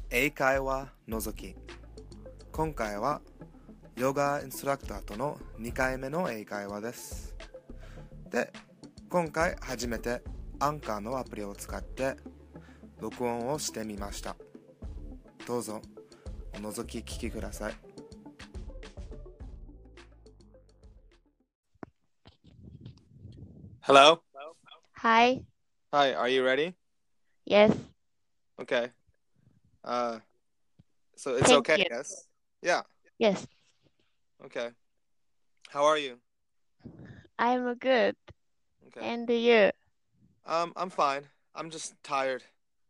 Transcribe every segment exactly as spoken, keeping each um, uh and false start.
英会話のぞき。今回はヨガインストラクターとのにかいめの英会話です。で、今回初めてアンカーのアプリを使って録音をしてみました。どうぞおのぞき聞きください。Hello? Hi. Hi, are you ready? Yes. Okay. Uh, so it's Thank okay, you. yes? Yeah, Yes. okay. How are you? I'm good. Okay. And you? Um, I'm fine. I'm just tired,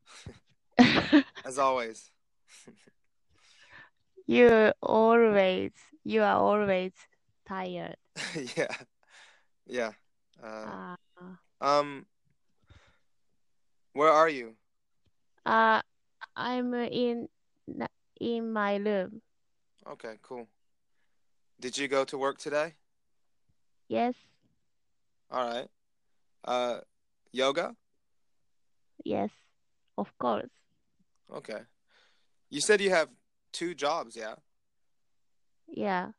as always. You always, you are always tired. Yeah, yeah. Uh, Uh, um, where are you? uh, I'm in in my room. Okay, cool. Did you go to work today? Yes. All right. Uh, yoga? Yes. Of course. Okay. You said you have two jobs, yeah? Yeah.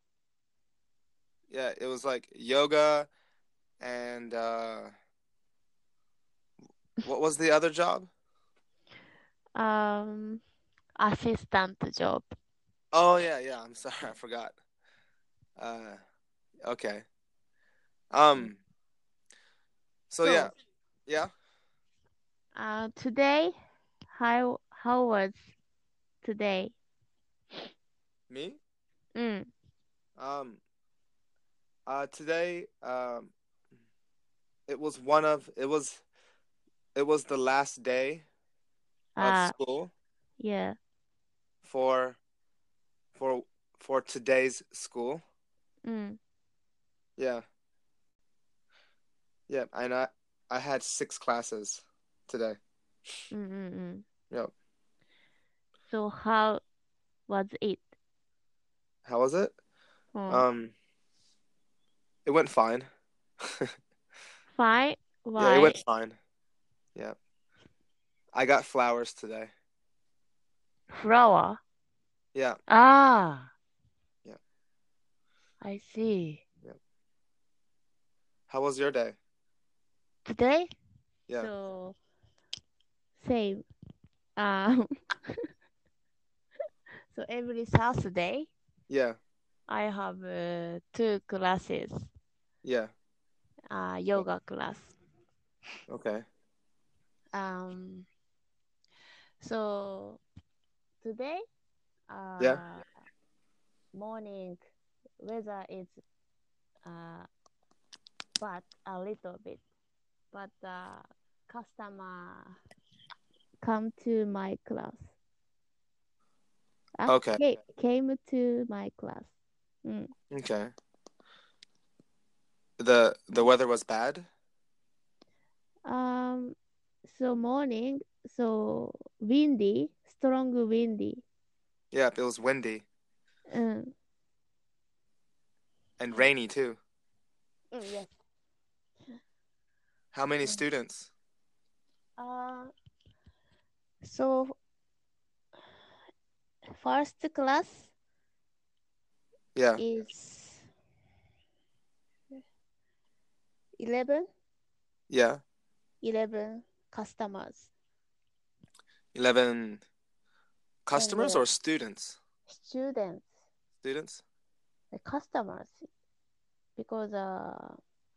Yeah, it was like yoga and uh, what was the other job? Um, assistant job. Oh, yeah, yeah. I'm sorry, I forgot. Uh, okay. Um, so yeah, So, yeah. uh, today, how how was today? Me? Mm. Um, uh, today, um, it was one of it was it was the last day of Uh, school yeah. for for for today's school. Mm. Yeah. Yeah, and I I had six classes today. Mm, mm, mm. Yep. So how was it? How was it? Oh, Um, it went fine. fine. Yeah, it Why? went fine. Yeah. I got flowers today. Flower. Yeah. Ah, Yeah. I see. Yeah. How was your day? Today? Yeah. So same. Um, so every Saturday Yeah. I have uh, two classes. Yeah. Uh, yoga class. Okay. Um, so today, Yeah. uh, morning weather is uh, but a little bit, but uh, customer come to my class. Ah, Okay. came, came to my class. Mm. Okay. The the weather was bad? Um, so morning, so windy, strong windy. Yeah, it was windy Mm. and rainy too. Mm, yes. How many Mm. students? Uh, so first class Yeah. is eleven, Yeah. eleven customers eleven and customers uh, or students? students, Students? the customers, because uh,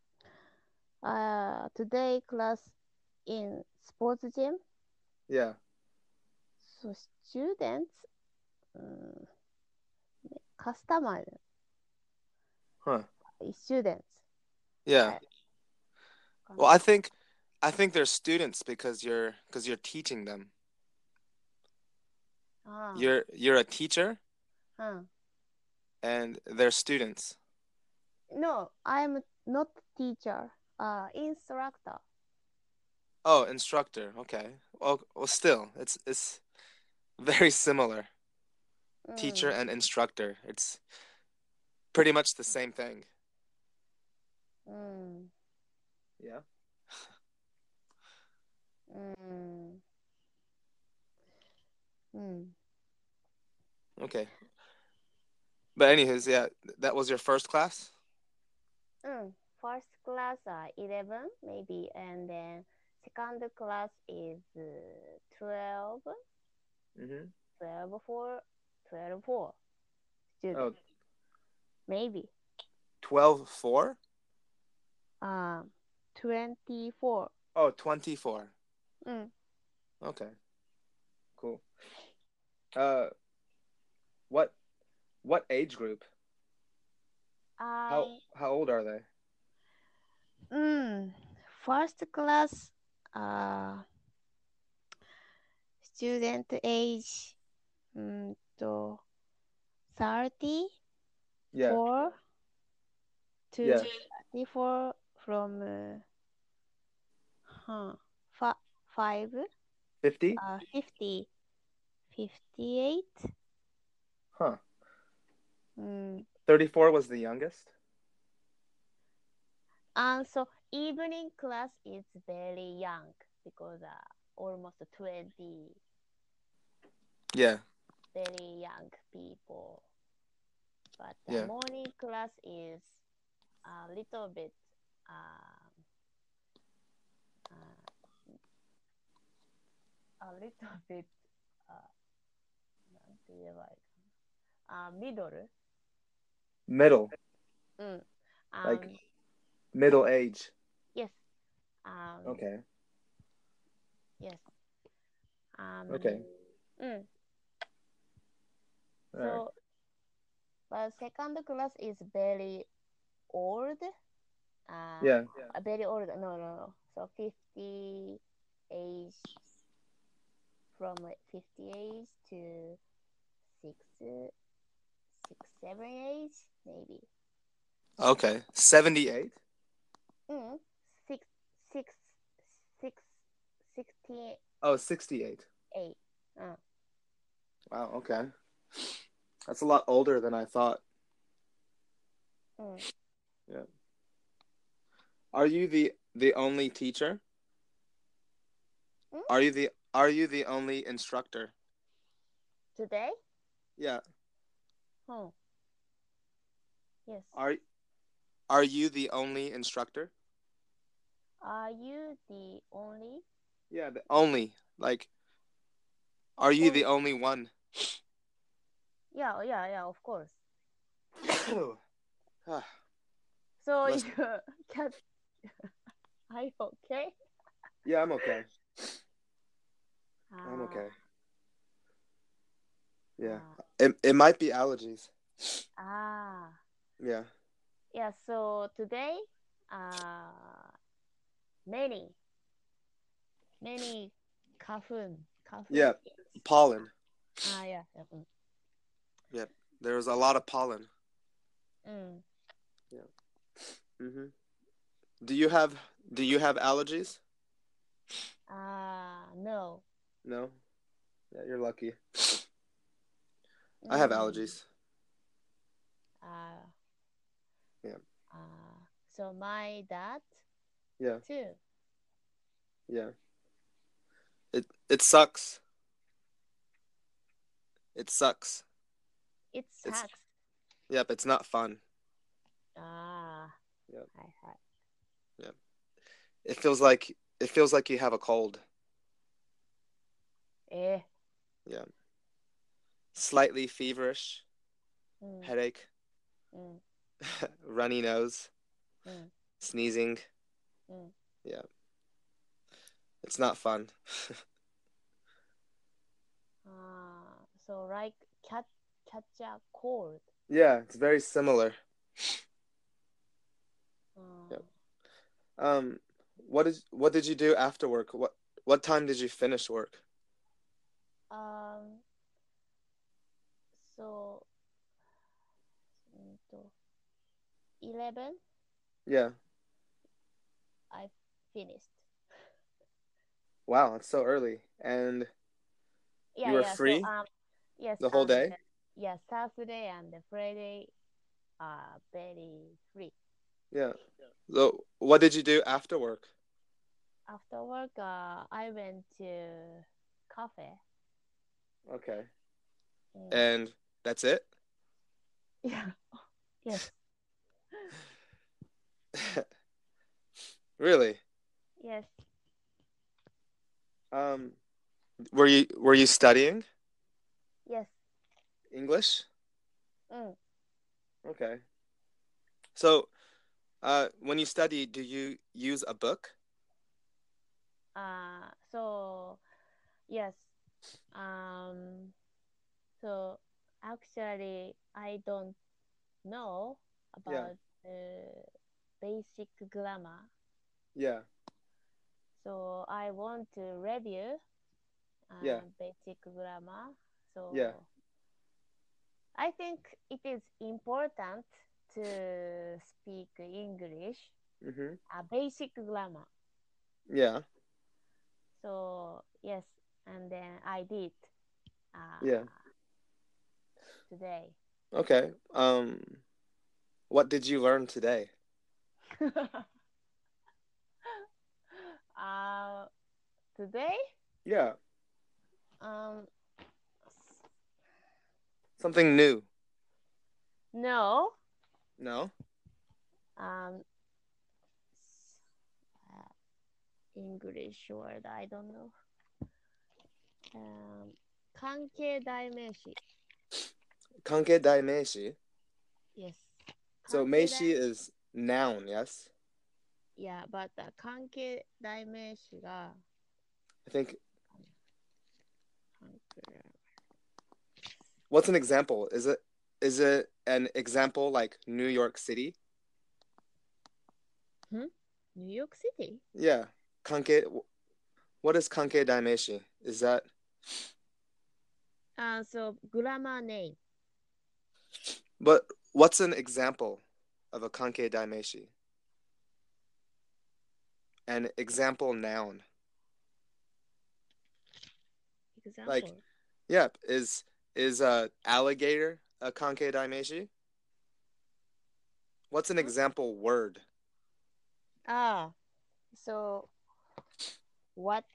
uh, today class in sports gym, Yeah. so students, um, customer, Huh. students. Yeah. I Well, I think I think they're students because you're because you're teaching them. Ah, You're you're a teacher uh. and they're students. No, I'm not teacher, uh, instructor. Oh, instructor. Okay. Well, well still, it's it's very similar. Teacher Mm, and instructor. It's pretty much the same thing. mm, Yeah. mm. Mm. Okay. But anyways, yeah, that was your first class? Mm. First class uh, eleven maybe, and then second class is uh, twelve, Mm-hmm. twelve for twelve for Oh, students maybe. twelve four? Um, twenty-four. Oh, twenty-four. Mm. Okay, cool. Uh, what what age group? How I how old are they? mm, first class uh student age mm, to Yeah, thirty-four to yeah. thirty-four from uh, huh, fi- five fifty? uh fifty fifty-eight. Huh. Mm. thirty-four was the youngest? And so evening class is very young because uh, almost twenty Yeah, very young people. But the yeah. morning class is a little bit uh, uh, a little bit uh, なんて言えばいいかな。uh, middle. Middle, うん。 like Um, middle age. yes. Um, Okay, yes. Um, okay. うん。 All right. So, but second class is very old. Uh, Yeah, uh, very old. No, no, no. So fifty age from like fifty age to six, six, seven age maybe. okay. seventy-eight? Mm, six, six, six, sixty-eight. Oh, sixty-eight. Uh, Wow, okay. That's a lot older than I thought. mm. Yeah. Are you the the only teacher? Mm? Are you the are you the only instructor? Today? Yeah. Oh, yes. Are are you the only instructor? Are you the only? Yeah, the only. Like, are you the only one? Yeah, yeah, yeah, of course. Ah, So Bless- you can. Are you okay? yeah, I'm okay. I'm Ah, okay. Yeah. ah, It it might be allergies. ah. Yeah. Yeah. So today, uh, many, many kafun, kafun. Yeah. Pollen. Ah, yeah. Yeah. Mm. Yeah. There's a lot of pollen. Mm. Yeah. Mhm. Do you have do you have allergies? Ah, no. No. Yeah, you're lucky. I have Mm. allergies. Ah, Yeah. ah. So my dad Yeah. too. Yeah. It it sucks. It sucks. It It's sucks. yep, it's not fun. Ah. Yep. Hi, hi. Yep. It feels like it feels like you have a cold. Eh. Yeah. Slightly feverish, Mm. headache, Mm. runny nose, Mm. sneezing. Mm. Yeah. It's not fun. Ah. So like cat catch a cold. Yeah, it's very similar. Ah. Yep. Um what did what did you do after work? What what time did you finish work? Um. So. mm, to eleven. Yeah. I finished. Wow, it's so early. And you Yeah, were yeah. So free um. Yes. the whole And day? yeah, Saturday and the Friday are very free. Yeah. So what did you do after work? After work, uh, I went to cafe. Okay. Mm. And that's it? Yeah. Yes. Really? Yes. Um, were you were you studying Yes. English? Mm. Okay. So, uh, when you study, do you use a book? Uh, so yes. Um, so actually, I don't know Yeah. about uh, basic grammar. Yeah. So I want to review Yeah. uh, basic grammar. Yeah. So I think it is important to speak English, Mm-hmm. a basic grammar. Yeah. So yes, and then I did Yeah. uh, today. Okay. Um, what did you learn today? uh, Today, Yeah. um, Something new. no, No? um, uh, English word I don't know. Um, 関係代名詞 Kanke dai meishi. Yes. So 関係代 meishi is noun, yes? Yeah, but the 関係代名詞が I think, 関係 what's an example? Is it is it an example like New York City? Hmm? New York City? Yeah. Kanke, what is kanke dai meishi? Is that, Uh, so grammar name. but what's an example of a kanke dai meishi? An example noun. Like, Example. yeah, is is a alligator a kanke dai meishi? What's an Hmm? example word? Ah, so what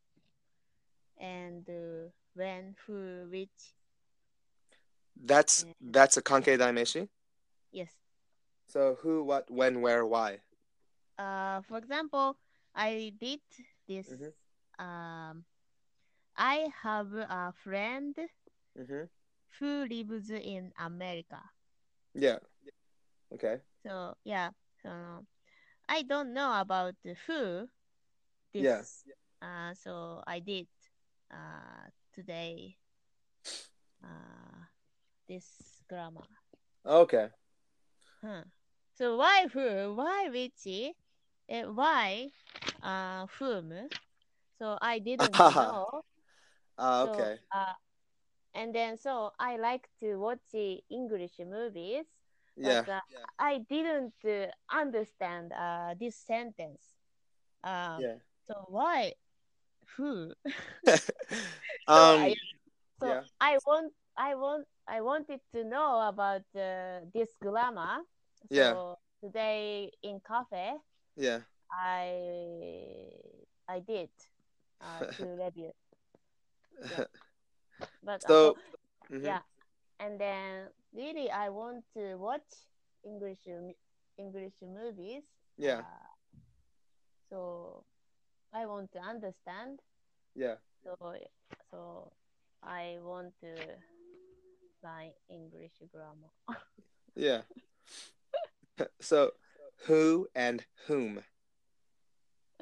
and uh, when, who, which, That's and that's a kanke dai meishi? yes. So who, what, when, where, why? Uh, for example, I did this. Mm-hmm. Um, I have a friend Mm-hmm. who lives in America. Yeah. Okay. So yeah, so I don't know about who Yeah. this. Uh, so I did uh, today uh, this grammar. Okay. Huh. So why who? Why which? Uh, why uh, whom? So I didn't Ah, know. ah, So okay. uh, and then so I like to watch the English movies, but Yeah. uh, I didn't uh, understand uh, this sentence. Um, Yeah. so why who? So I Um, so yeah. I want I want I wanted to know about uh, this grammar. Yeah. So today in cafe, Yeah. I I did uh, to review. Yeah, but uh, so So, mm-hmm. yeah, and then really I want to watch English English movies. Yeah. Uh, so I want to understand. Yeah. So so I want to learn English grammar. Yeah. So, who and whom? うん。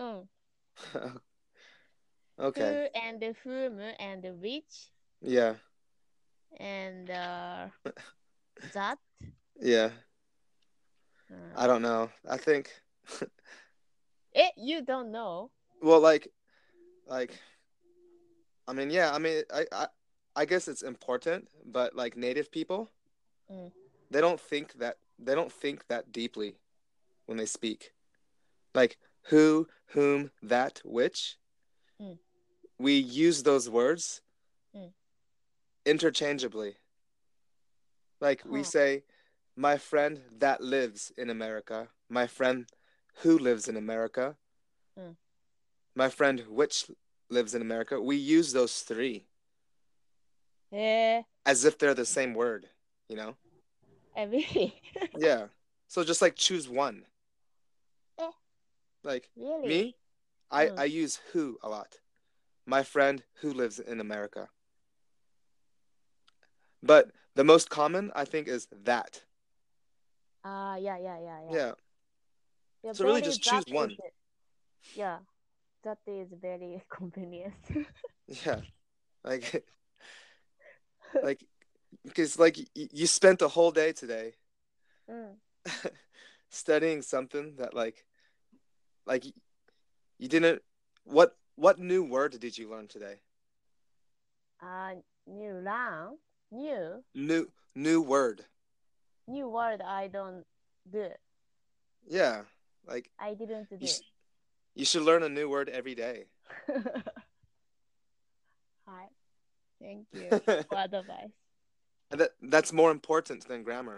Okay. Who and whom and which Yeah. and uh, that. Yeah. うん、 I don't know. I think, え、you don't know? well, like, like, I mean, yeah, I mean, I, I, I guess it's important, but like native people, うん。 they don't think that they don't think that deeply when they speak. Like who, whom, that, which. うん。 We use those words うん。 interchangeably. Like we は say, my friend that lives in America, my friend who lives in America, あ。うん。 my friend which lives in America. We use those three. えー、 as if they're the same word, you know? eh, really? Yeah. So just like choose one. Eh, Like really? me, I, Mm. I use who a lot. My friend who lives in America. But the most common, I think, is that. Ah, yeah, yeah, yeah, yeah. Yeah. Yeah, So really very just that choose is one. yeah, that is very convenient. Yeah. Like like because like y- you spent a whole day today うん。 studying something that like like you didn't what what new word did you learn today? Uh, new learn, new, New new word. new word I don't do. Yeah. Like I didn't you do. sh- you should learn a new word every day. はい。Thank you for advice. And that that's more important than grammar.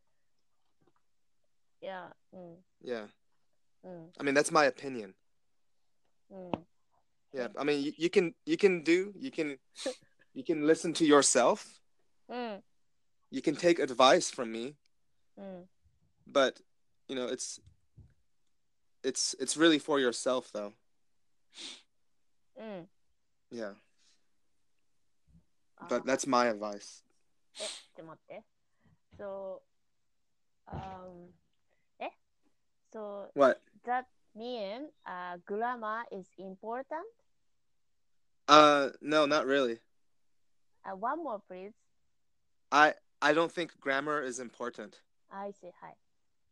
Yeah. うん。 Yeah. うん。 I mean, that's my opinion. うん。 Yeah. I mean, you, you can you can do you can you can listen to yourself. うん。 You can take advice from me, うん。 but you know, it's it's it's really for yourself though. うん。 Yeah. あ、 But that's my advice. え、ちょっと待って。So, um, え So, What? that mean uh, grammar is important? Uh no, not really. Uh, one more, please. I I don't think grammar is important. I see. はい。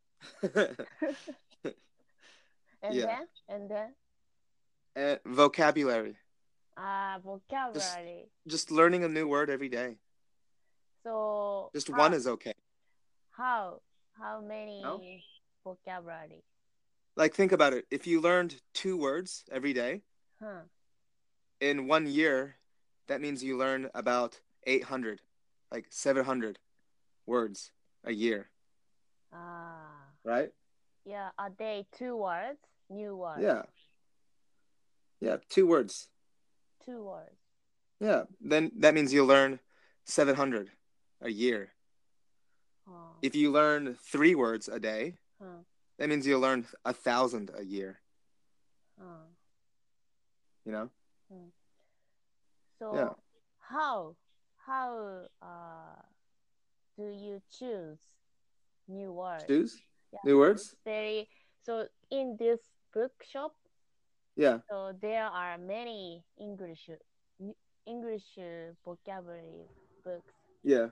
And Yeah. then? And then? And vocabulary. Uh, Just vocabulary. just learning a new word every day. So, Just how, one is okay. how, how No? many vocabulary? Like think about it. If you learned two words every day, Huh. in one year, that means you learn about eight hundred, like seven hundred words a year, Ah, right? yeah, a day, two words, new words, Yeah. Yeah, two words. two words. Yeah. Then that means you'll learn seven hundred a year. Huh. If you learn three words a day, Huh. that means you'll learn a thousand a year, Huh. you know? Hmm. So, Yeah. how, how uh, do you choose new words? Choose Yeah, new words? very. So, in this bookshop, Yeah. so there are many English English vocabulary books. Yeah.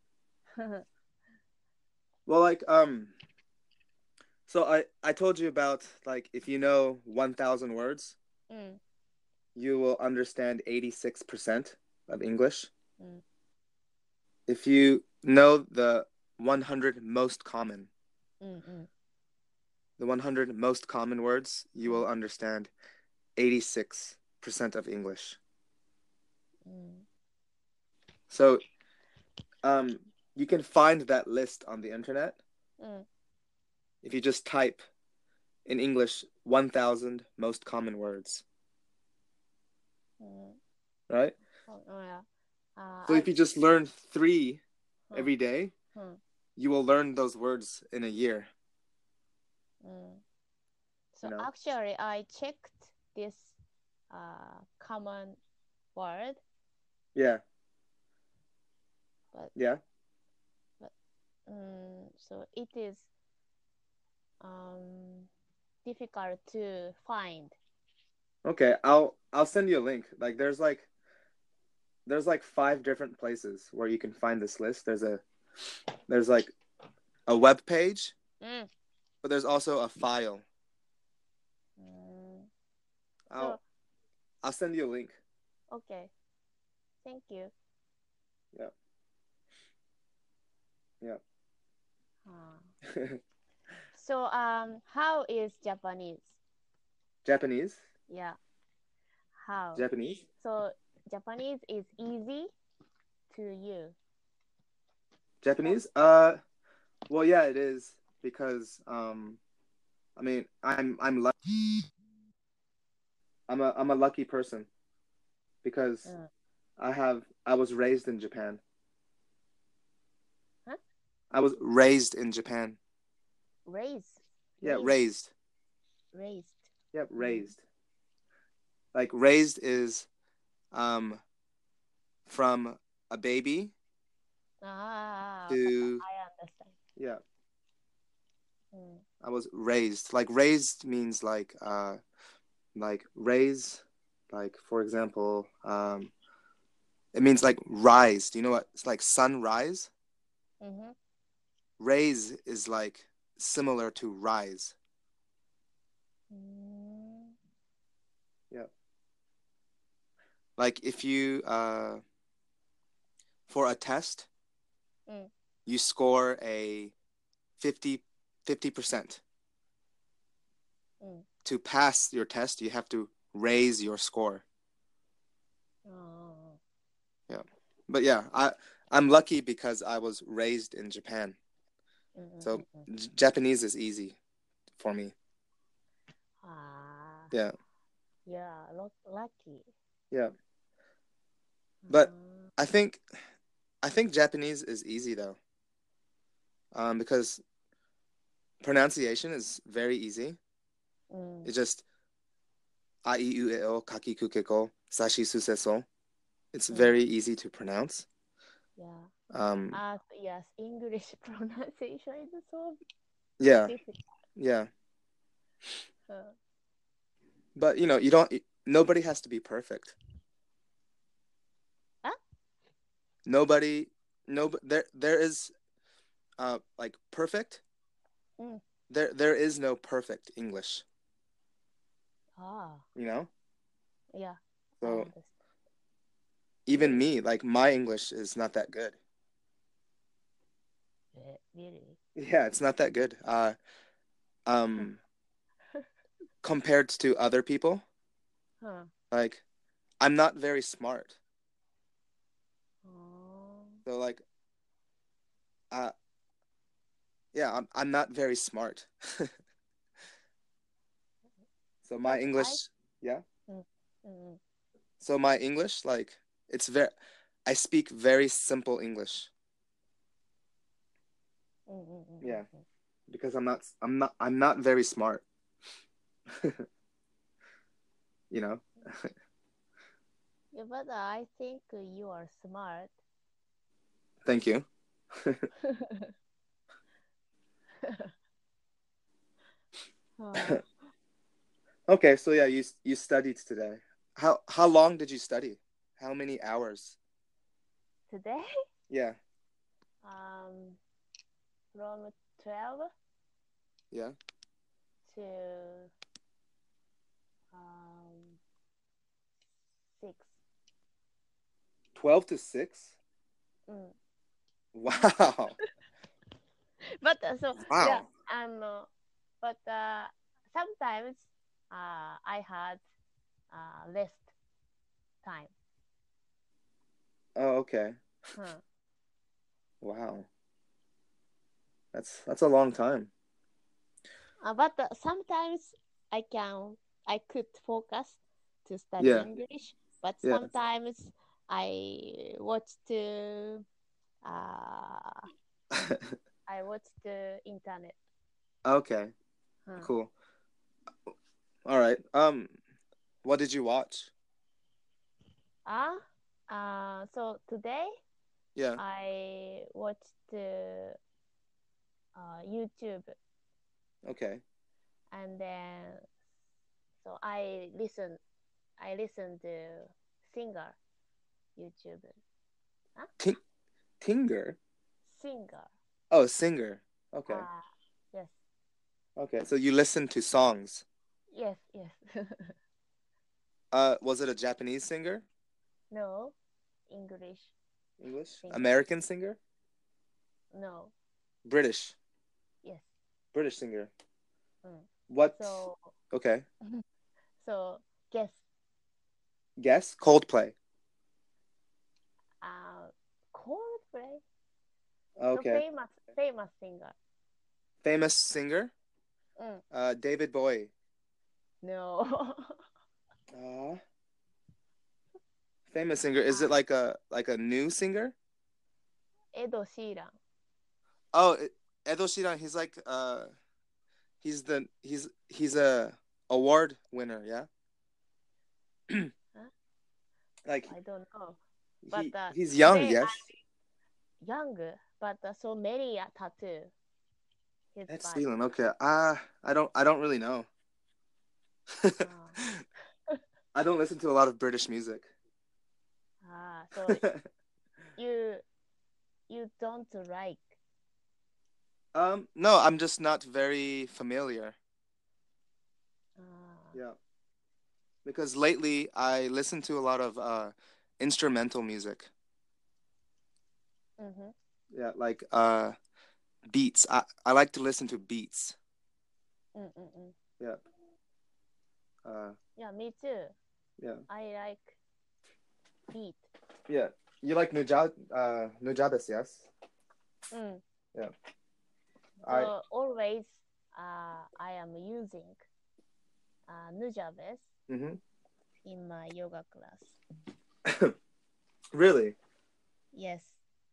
Well, like, um, so I, I told you about, like, if you know one thousand words, うん。 you will understand eighty-six percent of English. うん。 If you know the one hundred most common, うん。 うん。 the one hundred most common words, you will understand eighty-six percent of English. うん。 So, um, you can find that list on the internet うん。 if you just type in English one thousand most common words, うん。 right? Oh, oh, yeah. Uh, So I, if you just learn three うん。 every day, うん。 you will learn those words in a year, うん。 So you know? actually, I checked this uh, common word, Yeah. but Yeah. but um, so it is um, difficult to find. Okay, I'll I'll send you a link. Like there's like there's like five different places where you can find this list. There's a there's like a web page, うん。 but there's also a file. うん。 I'll So I'll send you a link. okay, thank you. Yeah. Yeah. Uh, so um, how is Japanese? Japanese? Yeah, how? Japanese? So Japanese is easy to you. Japanese? Uh well yeah, it is because um I mean, I'm I'm lucky. I'm a I'm a lucky person because うん。 I have. I was raised in Japan. Huh? I was raised in Japan. Raise. Yeah, Raised. raised. Raised. Yep, raised. Like raised is um from a baby Ah, to I understand. yeah. Mm. I was raised. Like raised means like uh like raise, like for example, um it means like rise. Do you know what? It's like sunrise. Mm-hmm. Raise is like similar to rise. Mm. Yeah. Like if you uh for a test, Mm. you score a fifty percent. Mm. To pass your test, you have to raise your score. Oh. Yeah. But yeah, I I'm lucky because I was raised in Japan. So Mm-mm-mm-mm. J- Japanese is easy for me. Ah, Yeah. yeah, lo- lucky. Yeah. But Ah, I think I think Japanese is easy though. Um because pronunciation is very easy. mm, It's just a i u e o kaki ku ke ko sashi su se so. It's mm, very easy to pronounce. yeah. Um Uh, yes, English pronunciation is so yeah. difficult. Yeah. Uh, But you know, you don't nobody has to be perfect. ah? Nobody no there there is uh like perfect. Mm. There there is no perfect English, Ah, you know? yeah, I So understand. even Really? me, like my English is not that good. Eh, Really? Yeah, it's not that good. Uh um compared to other people, Huh. like I'm not very smart. Oh. So like uh yeah, I'm I'm not very smart. So my But I, English, yeah. mm, mm, So my English like it's very I speak very simple English. mm, mm, mm, Yeah, mm, mm. because I'm not I'm not I'm not very smart. You know? Yeah, but I think you are smart. Thank you. Uh, Okay, so yeah, you you studied today. How how long did you study? How many hours? Today, Yeah, um, from twelve yeah. to um six. twelve to six? Mm. Wow. But uh, so yeah, Wow. um, uh, but uh, sometimes uh, I had uh, less time. Oh, okay. Huh. Wow. That's that's a long time. Uh, but uh, sometimes I can I could focus to study Yeah. English, but Yeah. sometimes I watch the uh, I watch the internet. Okay. Huh. Cool. All right. Um what did you watch? Ah, uh, so today Yeah. I watched the uh, YouTube, Okay. and then so I listen I listen to singer YouTube. Huh? Ting Tinger. Singer. Oh, singer. Okay. Ah, yes, Okay. So you listen to songs. yes, yes. Uh was it a Japanese singer? No, English English? singer. American singer? No, British. yes. British singer. Mm. What? So, Okay. so guess. Guess? Coldplay. Uh, Coldplay. So Okay. famous, famous singer. Famous singer? Mm. Uh, David Bowie. No. Uh, Famous singer. Is it Ah, like a like a new singer? エド・シーラン。 Oh, it- Edo Shiran. He's like uh, he's the he's he's a award winner. Yeah, Huh? like I don't know. But he uh, he's young. today Yes, I'm young, but uh, so many uh, tattoo his Ed body. Sheeran. Okay, ah, uh, I don't I don't really know. Ah, I don't listen to a lot of British music. ah, so you you don't like. um, no, I'm just not very familiar. Ah, Yeah, because lately I listen to a lot of uh instrumental music. mm-hmm, Yeah, like uh beats. I I like to listen to beats. mm-mm-mm. Yeah. Uh Yeah, me too. yeah. I like beat. Yeah. You like Nujab uh Nujabes, yes? Mm. Yeah. I So always uh, I am using uh, Nujabes mhm. in my yoga class. Really? Yes.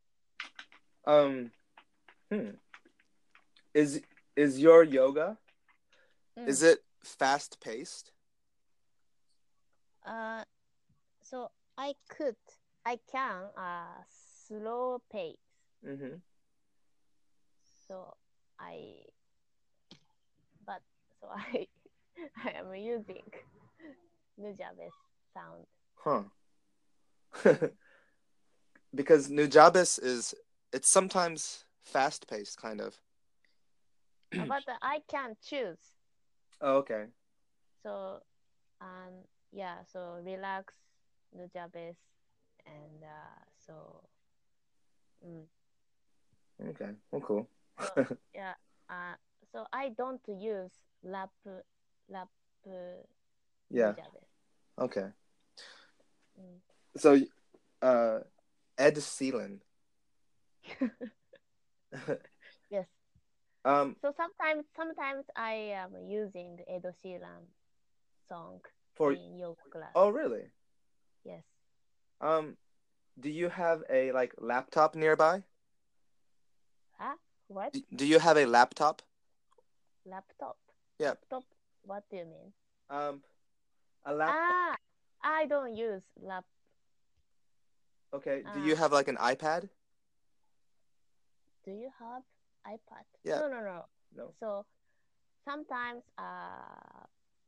Um hmm. Is is your yoga Mm. is it fast paced? Uh, so I could, I can uh, slow pace. Mhm. So I, but so I, I am using Nujabes sound. Huh. Mm. Because Nujabes is it's sometimes fast paced kind of. Uh, but I can choose. Oh, okay. So um, yeah, so relax Nujabes and uh, so mm, Okay. Well, cool. so yeah, uh, so I don't use lap lap uh, Yeah. Nujabes. Okay. Mm. So uh Ed Sheeran. Yes. um So sometimes sometimes I am using Edo Sheeran song for in yoga class. oh really? Yes. Um do you have a like laptop nearby? Huh? What? Do, do you have a laptop? Laptop. Yeah. Laptop. What do you mean? Um a laptop. Ah, I don't use lap. Okay. Do Uh, you have like an iPad? do you have iPad? Yeah. No, no, no. No. So sometimes uh,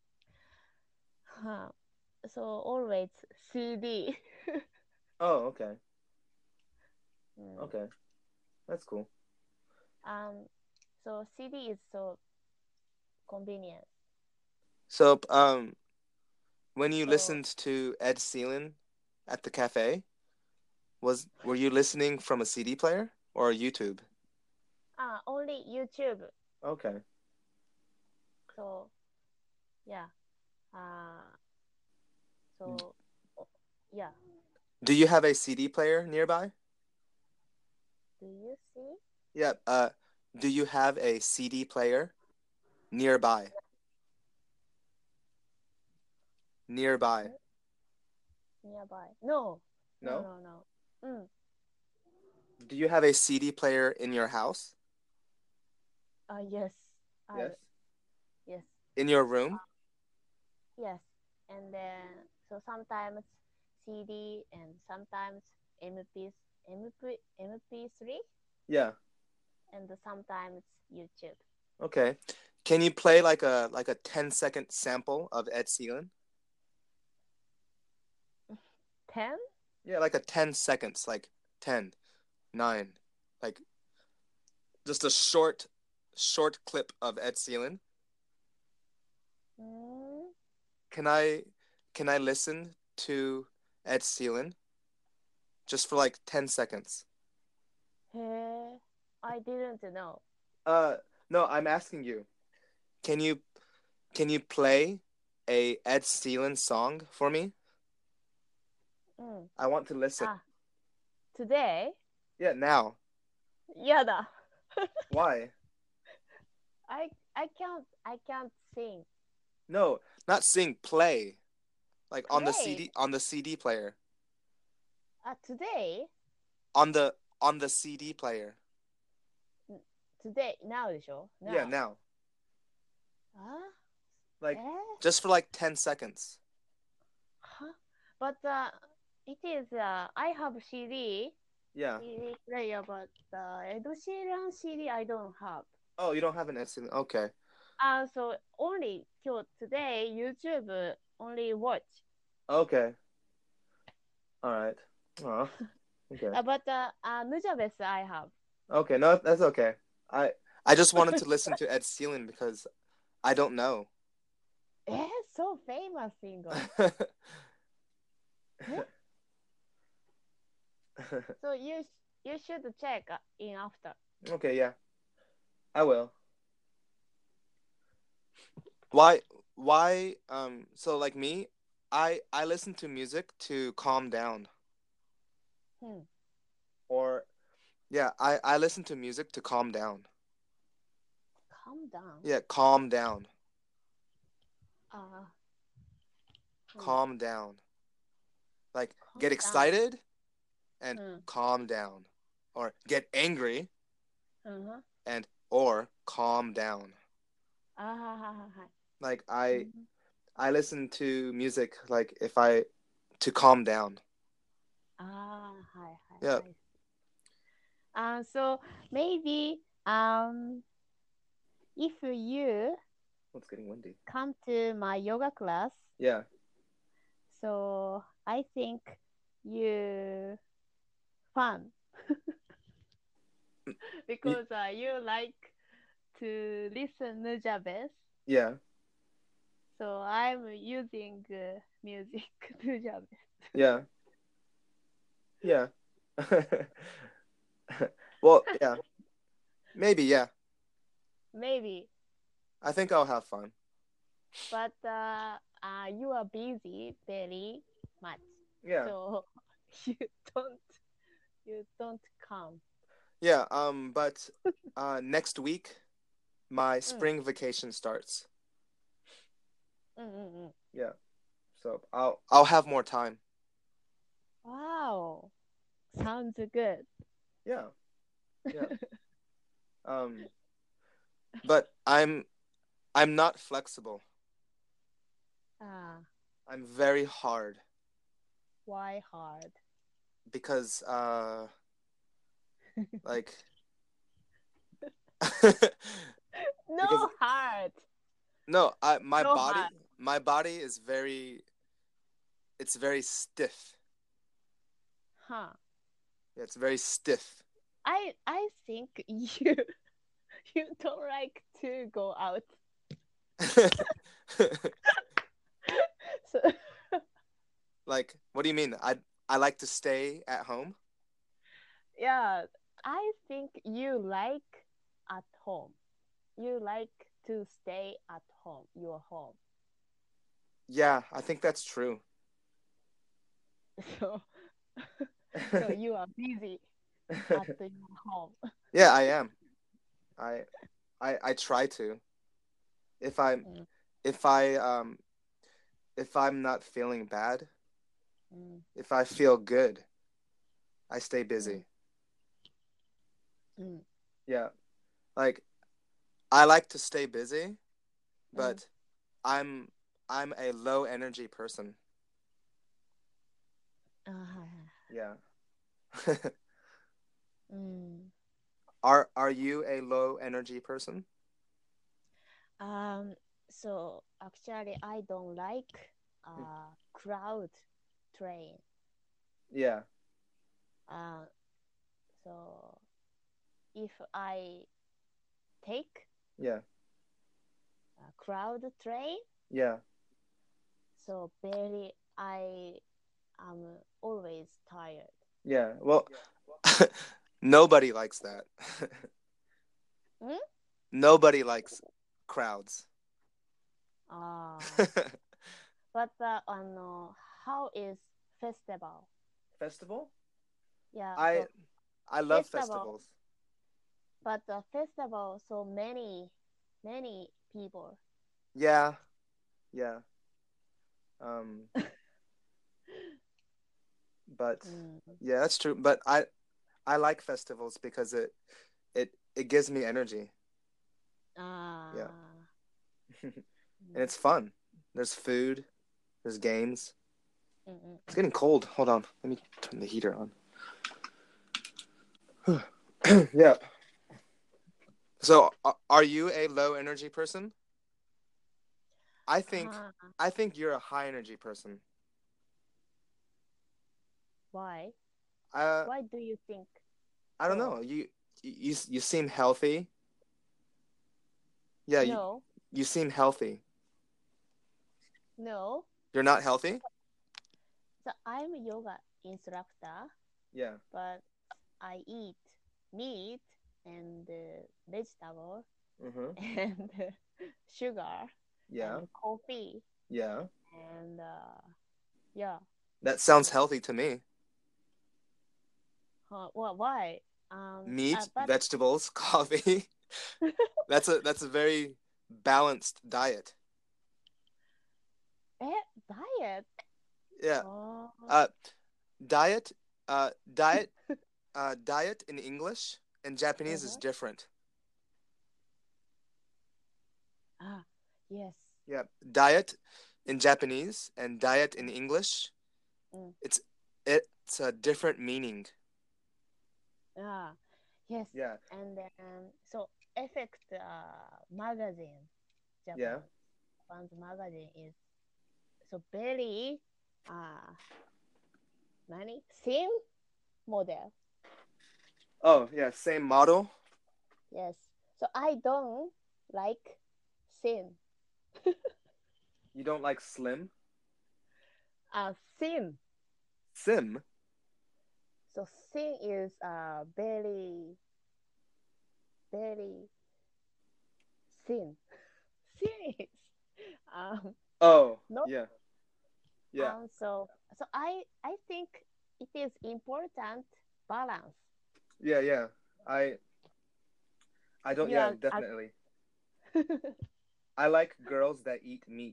huh, so always C D. Oh, okay. Mm. Okay. That's cool. Um, so C D is so convenient. So um when you So listened to Ed Sheeran at the cafe, was were you listening from a C D player or YouTube? ah, only YouTube. Okay. So yeah. Uh, so oh, yeah. Do you have a C D player nearby? Do you see? Yeah. Uh, do you have a C D player nearby? Nearby. Hmm? Nearby? No, no, No? no, no. Mm. Do you have a C D player in your house? Uh, yes. I Yes. yes. In your room? Yes. And then so sometimes C D and sometimes M P M P M P three Yeah. and sometimes YouTube. Okay. Can you play like a like a ten second sample of Ed Sheeran? Ten? Yeah, like a ten seconds, like ten, nine, like just a short short clip of Ed Sheeran. Mm. Can I can I listen to Ed Sheeran just for like ten seconds? Hey, I didn't know. Uh no, I'm asking you. Can you can you play a Ed Sheeran song for me? Mm. I want to listen. Ah, today? Yeah, now. やだ. Why? I I can't I can't sing. No, not sing, play. Like on the Play? C D on the C D player. Uh, today? On the on the C D player. Today? Now でしょ Yeah, Now. now. あ Like え just for like ten seconds. Huh? But uh, it is, uh, I have C D, Yeah. C D player, but uh, Ed Sheeran C D I don't have. Oh, you don't have an instant. Okay. Uh, so only 今日 today YouTube only watch. Okay. All right. Oh, okay. Uh, but uh, uh, Nujabes I have. Okay, no, that's okay. I I just wanted to listen to Ed Sheeran because I don't know. え so famous singer. So you you should check uh, in after. Okay, yeah. I will. Why why um so like me, I I listen to music to calm down. Hmm. Or yeah, I I listen to music to calm down. Calm down. Yeah, calm down. Uh, hmm. Calm down. Like Calm get down. excited and Hmm. calm down. Or get angry Uh-huh. and or calm down. あははははい。 Like I Mhm. I listen to music like if I to calm down. ああ、はいはい。 Yeah. I see. Uh, so maybe um if you Oh, it's getting windy. come to my yoga class, Yeah. so I think you fun because uh, you like to listen Nujabes. Yeah. So I'm using uh, music Nujabes. Yeah. Yeah. Well, yeah. Maybe, yeah. Maybe, I think I'll have fun. but uh, uh, you are busy very much, Yeah. so you don't you don't come. Yeah, um but uh next week my spring vacation starts. うんうんうん。 Yeah. So I'll I'll have more time. Wow, sounds good. Yeah. Yeah. Um but I'm I'm not flexible. Ah, I'm very hard why hard? because uh like No because hard. no, I my No body hard. my body is very it's very stiff. Huh. Yeah, it's very stiff. I I think you you don't like to go out. So Like, what do you mean? I I like to stay at home? yeah, I think you like at home. You like to stay at home, your home. Yeah, I think that's true. So so you are busy at your home. Yeah, I am. I I I try to. If I'm Mm, if I um if I'm not feeling bad, mm, if I feel good, I stay mm, busy. mm, Yeah. Like I like to stay busy, mm. but I'm I'm a low energy person. あ、はいはい。 Yeah. うん。 Are are you a low energy person? Um, so actually, I don't like Hmm. uh crowd train. Yeah. Uh, so if I take Yeah. a crowd train, Yeah. so very I am always tired. Yeah. Well, nobody likes that. Hmm? Nobody likes crowds. Ah, but uh, あの how is festival? Festival? Yeah, I so I love festival, festivals. but the festival so many many people. Yeah. Yeah. Um But Mm. yeah, that's true. But I I like festivals because it it it gives me energy. Yeah. Ah. And it's fun. There's food, there's games. Mm-mm. It's getting cold. Hold on. Let me turn the heater on. Yeah. So, a- are you a low energy person? I think Ah, I think you're a high energy person. why? Uh, Why do you think I don't so? know. You you you seem healthy. Yeah, you No, you seem healthy. no. You're not healthy? So I'm a yoga instructor, Yeah. but I eat meat and uh, vegetable Mhm. and uh, sugar Yeah. and coffee Yeah. and uh, yeah. That sounds healthy to me. Huh, well, why? Um, uh, Meat, but vegetables, coffee. That's a that's a very balanced diet. eh, diet. Yeah. Oh, Uh diet uh diet uh diet in English and Japanese is uh-huh. different. Ah, yes. Yeah. Diet in Japanese and diet in Mm, English, mm. it's it's a different meaning. Ah, yes. Yeah. And then so Effect uh, magazine, Yeah. Japan, Japan's magazine is so very uh, many same model. Oh, yeah, same model. Yes. So I don't like thin. You don't like slim? Uh, thin. Sim? So thin is uh very very thin. Thin is um Oh, not yeah. Yeah. um so so I I think it is important balance. Yeah, yeah. I I don't You yeah, are uh, definitely. I like girls that eat meat.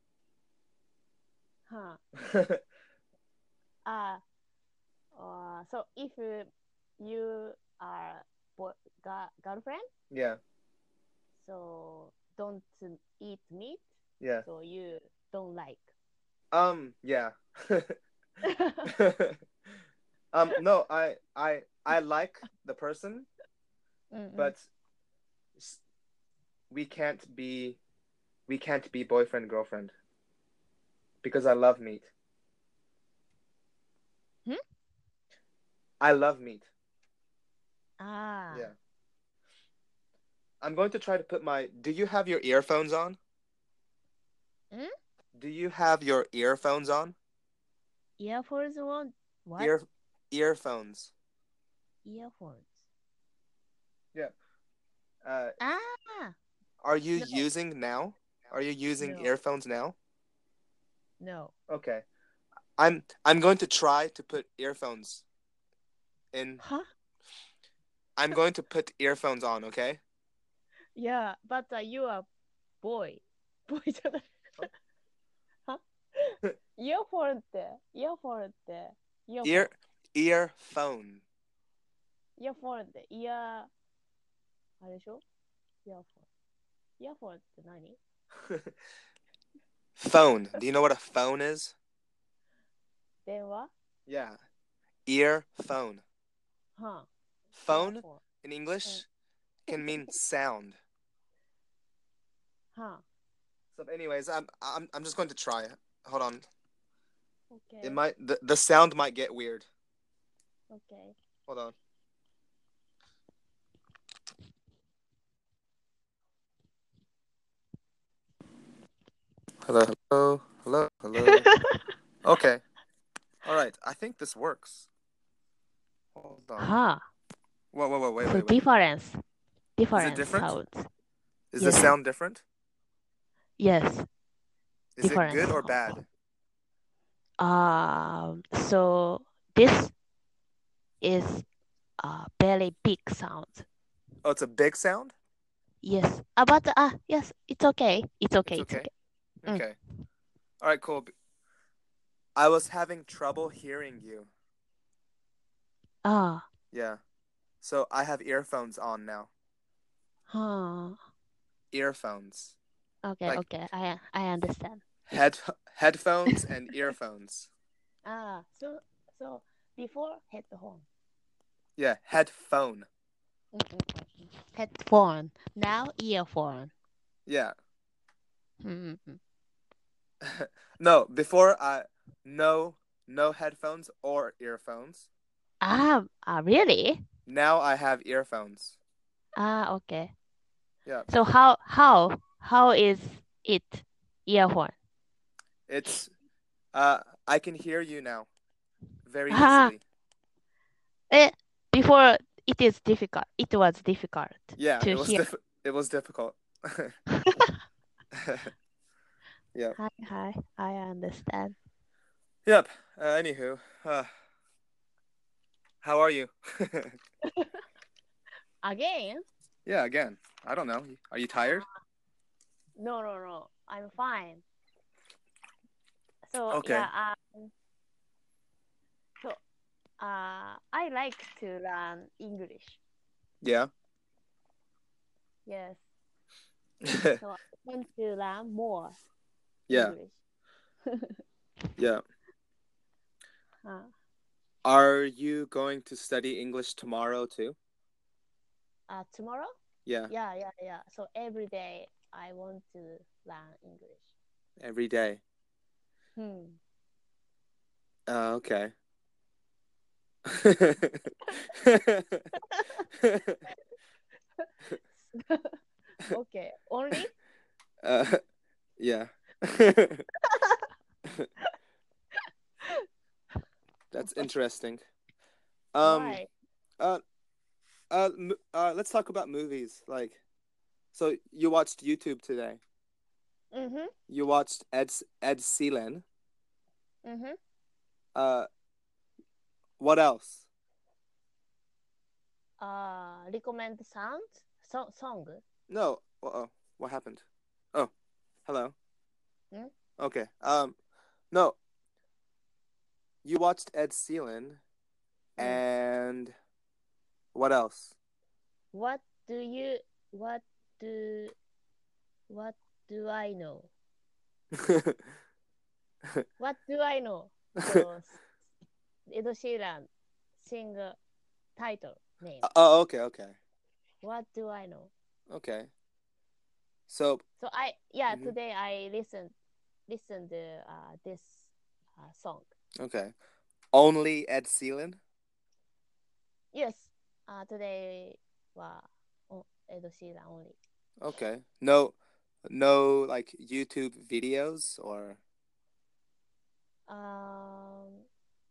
huh. Uh, uh so if uh, you are boy, ga- girlfriend, Yeah. so don't eat meat, Yeah. so you don't like. Um, yeah. Um, no, I I I like the person, Mm-mm. but we can't be we can't be boyfriend girlfriend because I love meat. Hmm? I love meat. Ah, Yeah. I'm going to try to put my Do you have your earphones on? hmm? Do you have your earphones on? Earphones one? What? Ear earphones. Earphones. Yeah. Uh Ah, are you no, using now? Are you using no, earphones now? no. Okay. I'm I'm going to try to put earphones in. Huh? I'm going to put earphones on, okay? Yeah, but uh, you are boy. Boy じゃない。はイヤフォンって、イヤフォンって、イヤフォン。 Ear earphone. イヤフォンって、イヤ、あれでしょイヤフォン。イヤフォンって何 Phone. Do you know what a phone is? 電話 Yeah. Earphone. はあ、イヤ Phone フォン。 in English can mean sound. はあ、 So anyways, I'm I'm I'm just going to try. Hold on. OK。 It might the, the sound might get weird. OK。 Hold on. Hello, hello, hello, hello. Okay. All right. I think this works. Hold on. はあ。 Whoa, whoa, whoa, wait, So wait, wait. difference. Is it Difference different? sounds. Is Yes. the sound different? Yes. Is it Different good or sounds. bad? Um, so this is a very big sound. Oh, it's a big sound? Yes. Uh, but uh, yes, it's okay. It's okay. It's It's okay. okay. Okay. All right, cool. I was having trouble hearing you. Ah, Yeah. So I have earphones on now. huh. Earphones. Okay, Like okay. I I understand. head headphones and earphones. Ah, so so before headphone. Yeah, headphone. Mm-mm-mm. Headphone. Now earphone. Yeah. Mm-mm. No, before I no no headphones or earphones. Ah, ah, really? Now I have earphones. Ah, okay. Yeah. So how how how is it earphone? It's uh I can hear you now very Ah, easily. eh, before it is difficult. It was difficult Yeah, to it was hear. diff- it was difficult. Yep. Hi, hi. I understand. Yep. Uh, anywho, uh, how are you? Again? Yeah, again. I don't know. Are you tired? No, no, no. I'm fine. So Okay. yeah, um, so uh, I like to learn English. Yeah. Yes. So I want to learn more Yeah. English. Yeah. Uh, Are you going to study English tomorrow too? uh, tomorrow? Yeah, Yeah, yeah, yeah. So every day I want to learn English. every day. Hmm. Uh, okay. Okay. Only? uh, yeah. That's interesting. Um, Why? uh, uh, m- uh, let's talk about movies. Like, so you watched YouTube today. Mm-hmm. You watched Ed Ed Sheeran. Mm-hmm. Uh, what else? Uh, recommend sound? So song? No. Uh-oh. What happened? Oh, hello. Hmm? Okay. Um, no. You watched Ed Sheeran, Mm. and what else? What do you what do what do I know? What do I know? So Ed Sheeran sing title name. Oh, okay, okay, What do I know? okay. So, So I yeah mhm, today I listened listened to uh, this uh, song. okay. Only Ed Sheeran. Yes. Uh, today was oh, Ed Sheeran only. Okay. No, no, like YouTube videos or Um.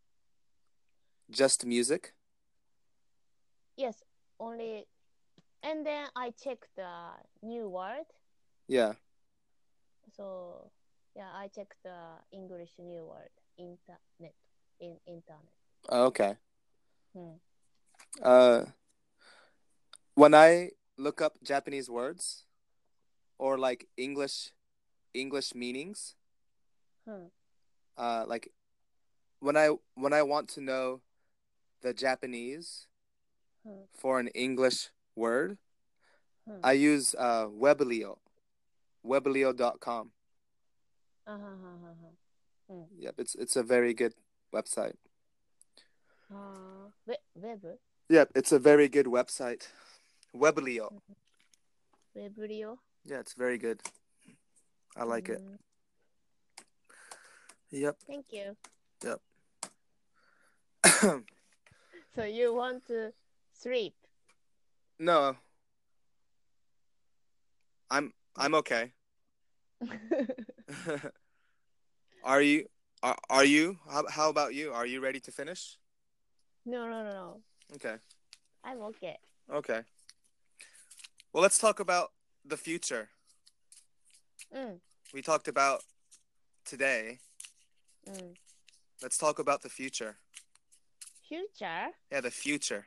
just music. Yes. Only. And then I checked the new word. Yeah. So yeah, I checked the English new word internet in internet. Okay. Hmm. Uh, when I look up Japanese words or like English English meanings, Hmm. uh, like when I when I want to know the Japanese Hmm. for an English word, Hmm. I use uh, Weblio, weblio dot com. Uh-huh, uh-huh, uh-huh. Hmm. Yep, it's it's a very good website. Uh, we- web. Yep, it's a very good website. Weblio. Webrio. Yeah, it's very good. I like it. Mm, Yep. thank you. Yep. So you want to sleep? No, I'm I'm okay. Are you are, are you how, how about you? Are you ready to finish? No, no, no, no. Okay. I'm okay. Okay. Well, let's talk about the future. Mm, We talked about today. mm. Let's talk about the future. Future. Yeah, the future.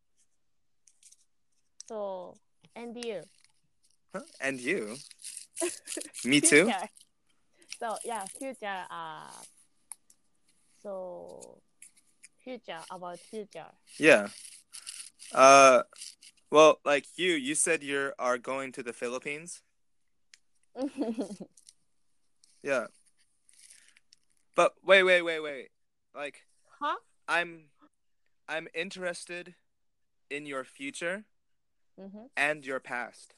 So and you. Huh? And you? Me too? Future. So yeah, future. Uh, so future about future. Yeah. Uh, well, like you, you said you are going to the Philippines. Yeah. But wait, wait, wait, wait. Like, Huh? I'm, I'm interested in your future Mm-hmm. and your past.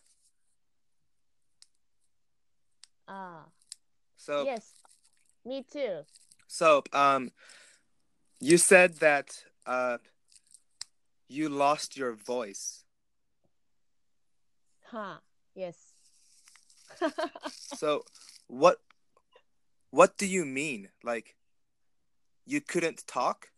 Ah, So, yes, me too. so, um, you said that uh, you lost your voice. Huh? Yes. So, what, what do you mean? Like, you couldn't talk?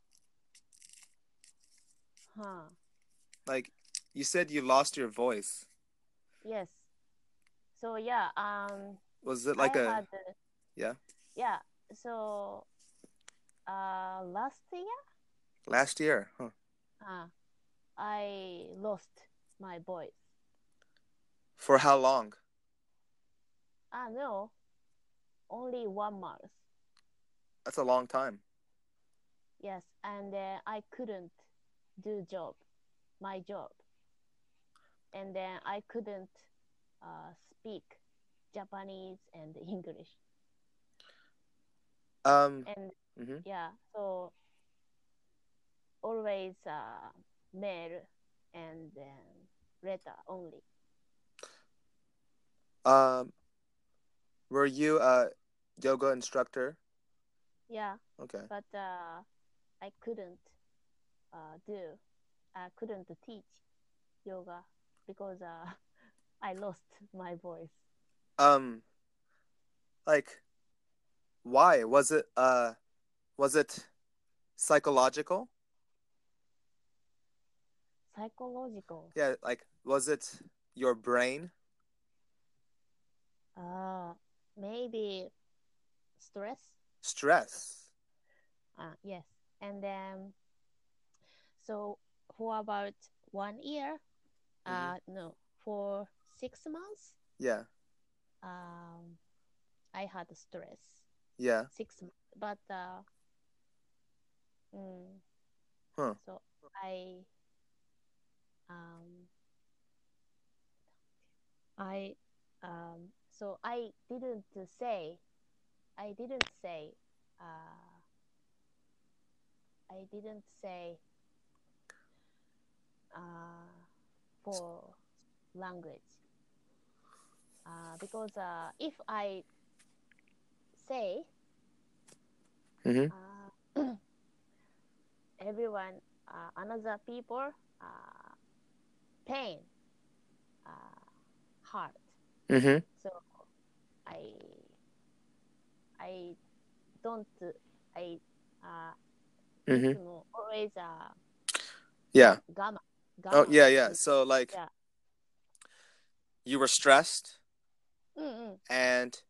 Huh? Like, you said you lost your voice. Yes. So yeah, um, Was it I like a, had uh, yeah, yeah. So uh, last year, last year? Huh. uh, I lost my voice. For how long? Ah no, only one month. That's a long time. Yes, and uh, I couldn't do job, my job, and then I couldn't uh, speak Japanese and English, Um, and mm-hmm. yeah, so always uh, mail and then letter only. Um, were you a yoga instructor? Yeah, Okay. but uh, I couldn't uh, do, I couldn't teach yoga because uh, I lost my voice. Um, like, why? Was it, uh, was it psychological? Psychological. Yeah, like, was it your brain? Uh, maybe stress. Stress? Uh, yes, and then so for about one year, Mm-hmm. uh, no, for six months, Yeah, um, I had stress. yeah. Six months, but uh, mm, Huh. so I um I um so I didn't say I didn't say uh I didn't say uh for language uh because uh if I say Mm-hmm. uh everyone uh, another people uh pain uh heart, Mm-hmm. so I I don't I uhい Mm-hmm. つも always uh Yeah. 我慢 Oh, 我慢 yeah, yeah. する So, like, yeah you were stressed うんうん and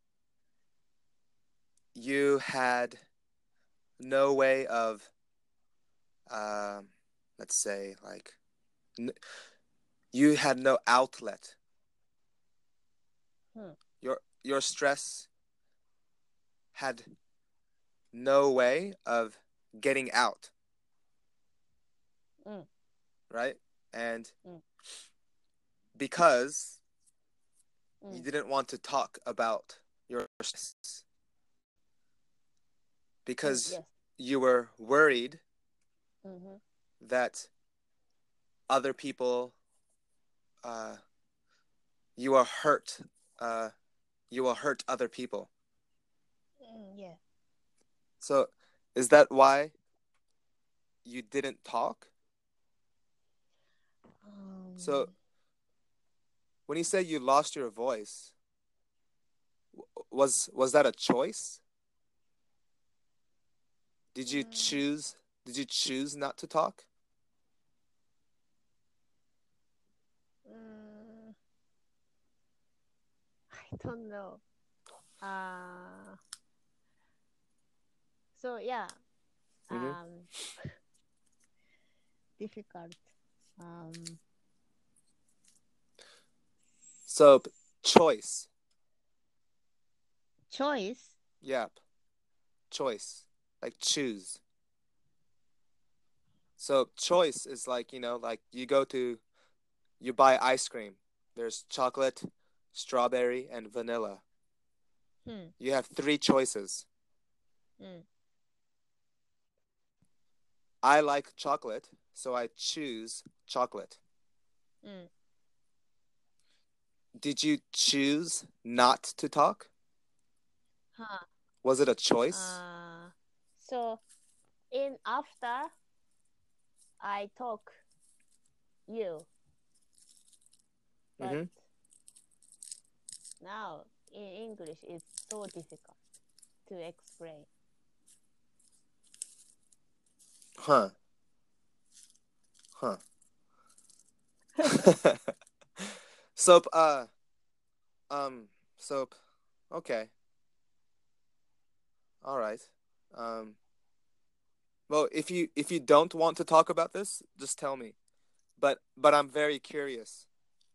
you had no way of, um, let's say, like, n- you had no outlet. うん Your your stress had no way of getting out, うん right? And Mm. because うん you didn't want to talk about your stress, うん because yes you were worried うんうん that other people, uh, you will hurt, uh, you will hurt other people. うん yes So, is that why you didn't talk? So, um, when you say you lost your voice, was was that a choice? Did you mm, choose? Did you choose not to talk? mm, I don't know uh so yeah Mm-hmm. um difficult um So, choice. choice Yep. Choice. Like choose. So choice is like, you know, like you go to, you buy ice cream. There's chocolate, strawberry, and vanilla. うん。 You have three choices. うん。 I like chocolate, so I choose chocolate. うん。 Did you choose not to talk? は Was it a あ。 choice? Uh, so, in after I talk you, but Mm-hmm. now in English it's so difficult to explain. Huh. Huh. Soap, uh, um, soap. Okay. All right. Um, well, if you if you don't want to talk about this, just tell me. But but I'm very curious.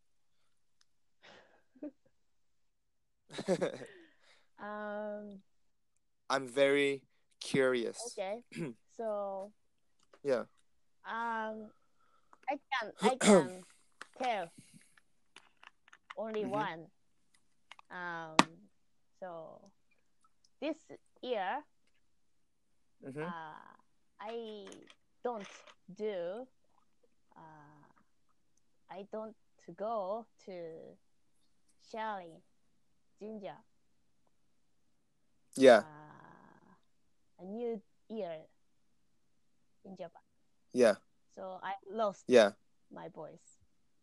Um, I'm very curious. okay. So, Yeah. um, I can I can tell only Mhm. one. Um, so this year, Mhm. uh, I don't do. Uh, I don't go to Shaolin Jinja. Yeah. Uh, a new year in Japan. Yeah. So I lost Yeah. my voice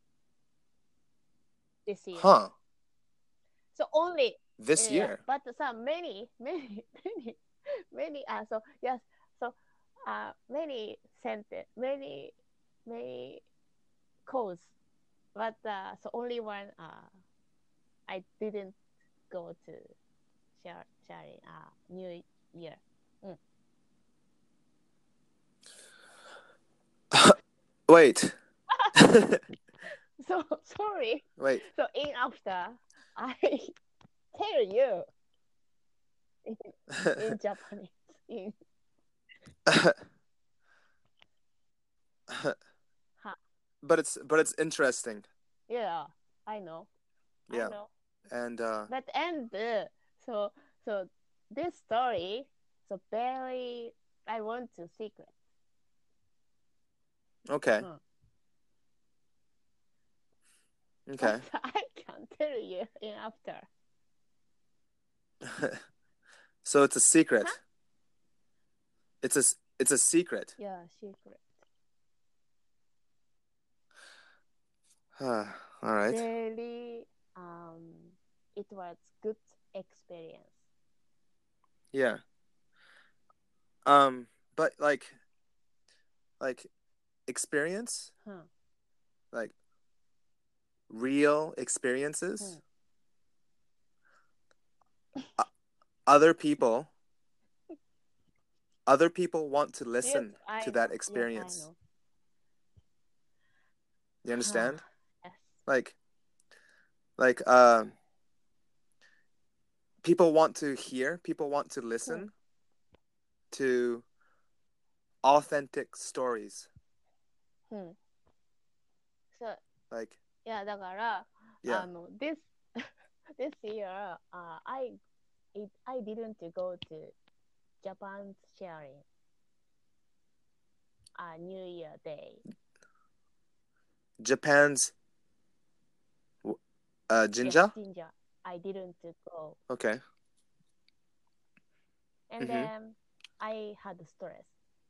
this year. Huh. So only This yeah, year. but some many many many many uh so yes so uh many sentence many many calls, but uh so only one uh I didn't go to share sharing uh New Year. Mm. Wait. So sorry. Wait. So in after I tell you in, in Japanese in ha. but it's but it's interesting. Yeah, I know. I Yeah. know. And uh But and uh, so so this story so very I want to secret. okay. Hmm. Okay. But I can tell you in after. So it's a secret. Huh? It's a it's a secret. Yeah, secret. All right. Very um it was good experience. Yeah. Um but like like experience, Hmm. like real experiences. O- Other people other people want to Yes, listen I to that know. Yes, I experience. know. You Huh. understand? Yes. Like like uh people want to hear, people want to Hmm. listen to authentic stories. Hmm. So Like yeah, だから yeah. あの this this year uh, I it I didn't go to Japan's sharing uh, New Year Day. Japan's uh Yes, Jinja? Jinja. I didn't go. Okay. And Mhm. then I had stress.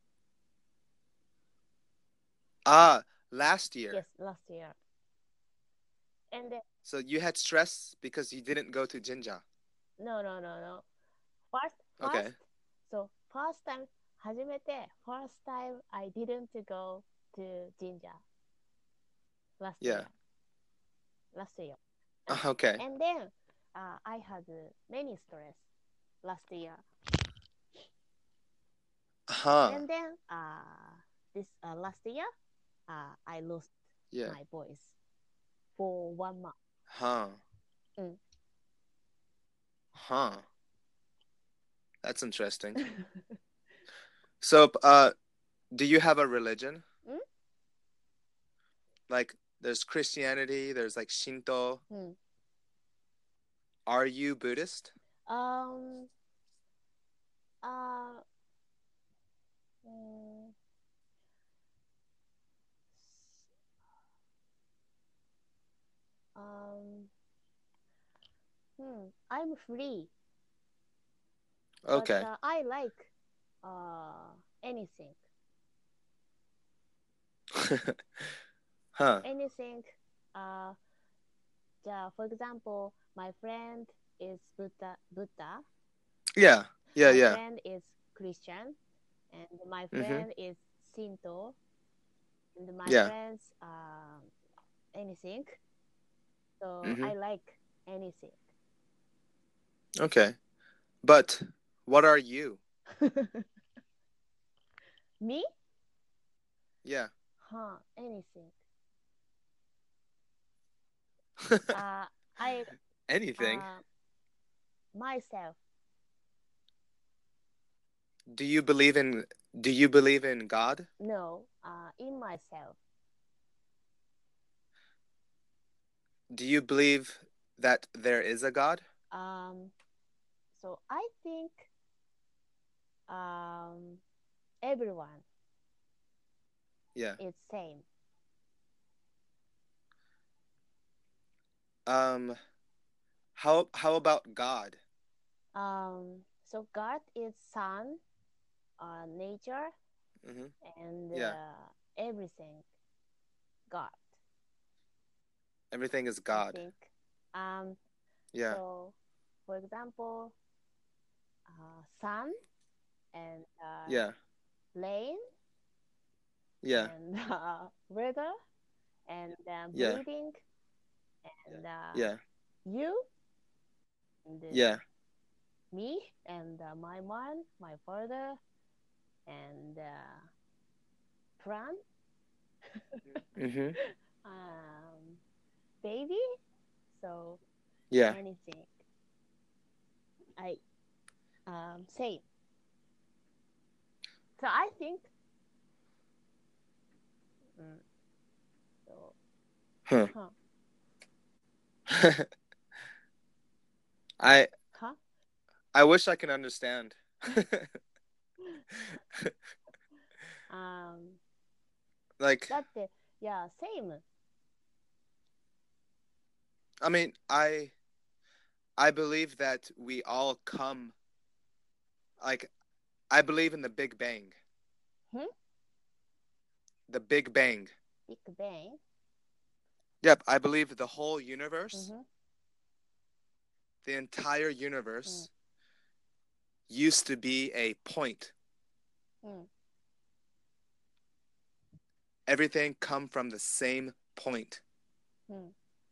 Ah, last year. Yes, last year. And then, So you had stress because you didn't go to Jinja. no, no, no, no. First, first, Okay. so first time, 初めて first time I didn't go to Jinja last Yeah. year. Last year. Okay. And then uh, I had many stress last year. Huh. And then uh, this uh, last year, uh, I lost Yeah. my voice for one month. Huh. Mm. Huh. That's interesting. So uh do you have a religion? Hmm? Like, there's Christianity, there's like Shinto. Hmm. Are you Buddhist? Um. Uh. mm, um. Hmm. I'm free, but Okay. uh, I like uh anything. Huh. Anything. Uh. The, for example, my friend is Buddha. Buddha. Yeah. Yeah, My yeah. friend is Christian, and my Mhm. friend is Shinto, and my Yeah. friends um anything. So I Mhm. like anything. Okay. But what are you? Me? Yeah. Huh? Anything. Uh, I Anything. uh myself. Do you believe in do you believe in God? No. Uh, in myself. Do you believe that there is a God? Um. So I think um everyone Yeah. is same. Um how how about God? Um. So God is sun, uh, nature, Mhm. and Yeah. uh, everything. God, Everything is I God. think. Um. Yeah. So, for example, uh, sun and uh, Yeah. rain Yeah. and uh, weather and uh, Yeah. breathing and uh, Yeah. you and uh, Yeah. me and uh, my mom, my father and uh, plant, Mhm. um, baby. So Yeah. anything. I um say. So I think. Mm, so, Huh. huh? I Huh? I wish I could understand. um. like だって、yeah, same. I mean, I I believe that we all come like I believe in the Big Bang. Hmm? The Big Bang. Big Bang. Yep, I believe the whole universe, Mm-hmm. the entire universe used to be a point. Mm. Everything come from the same point. Mm.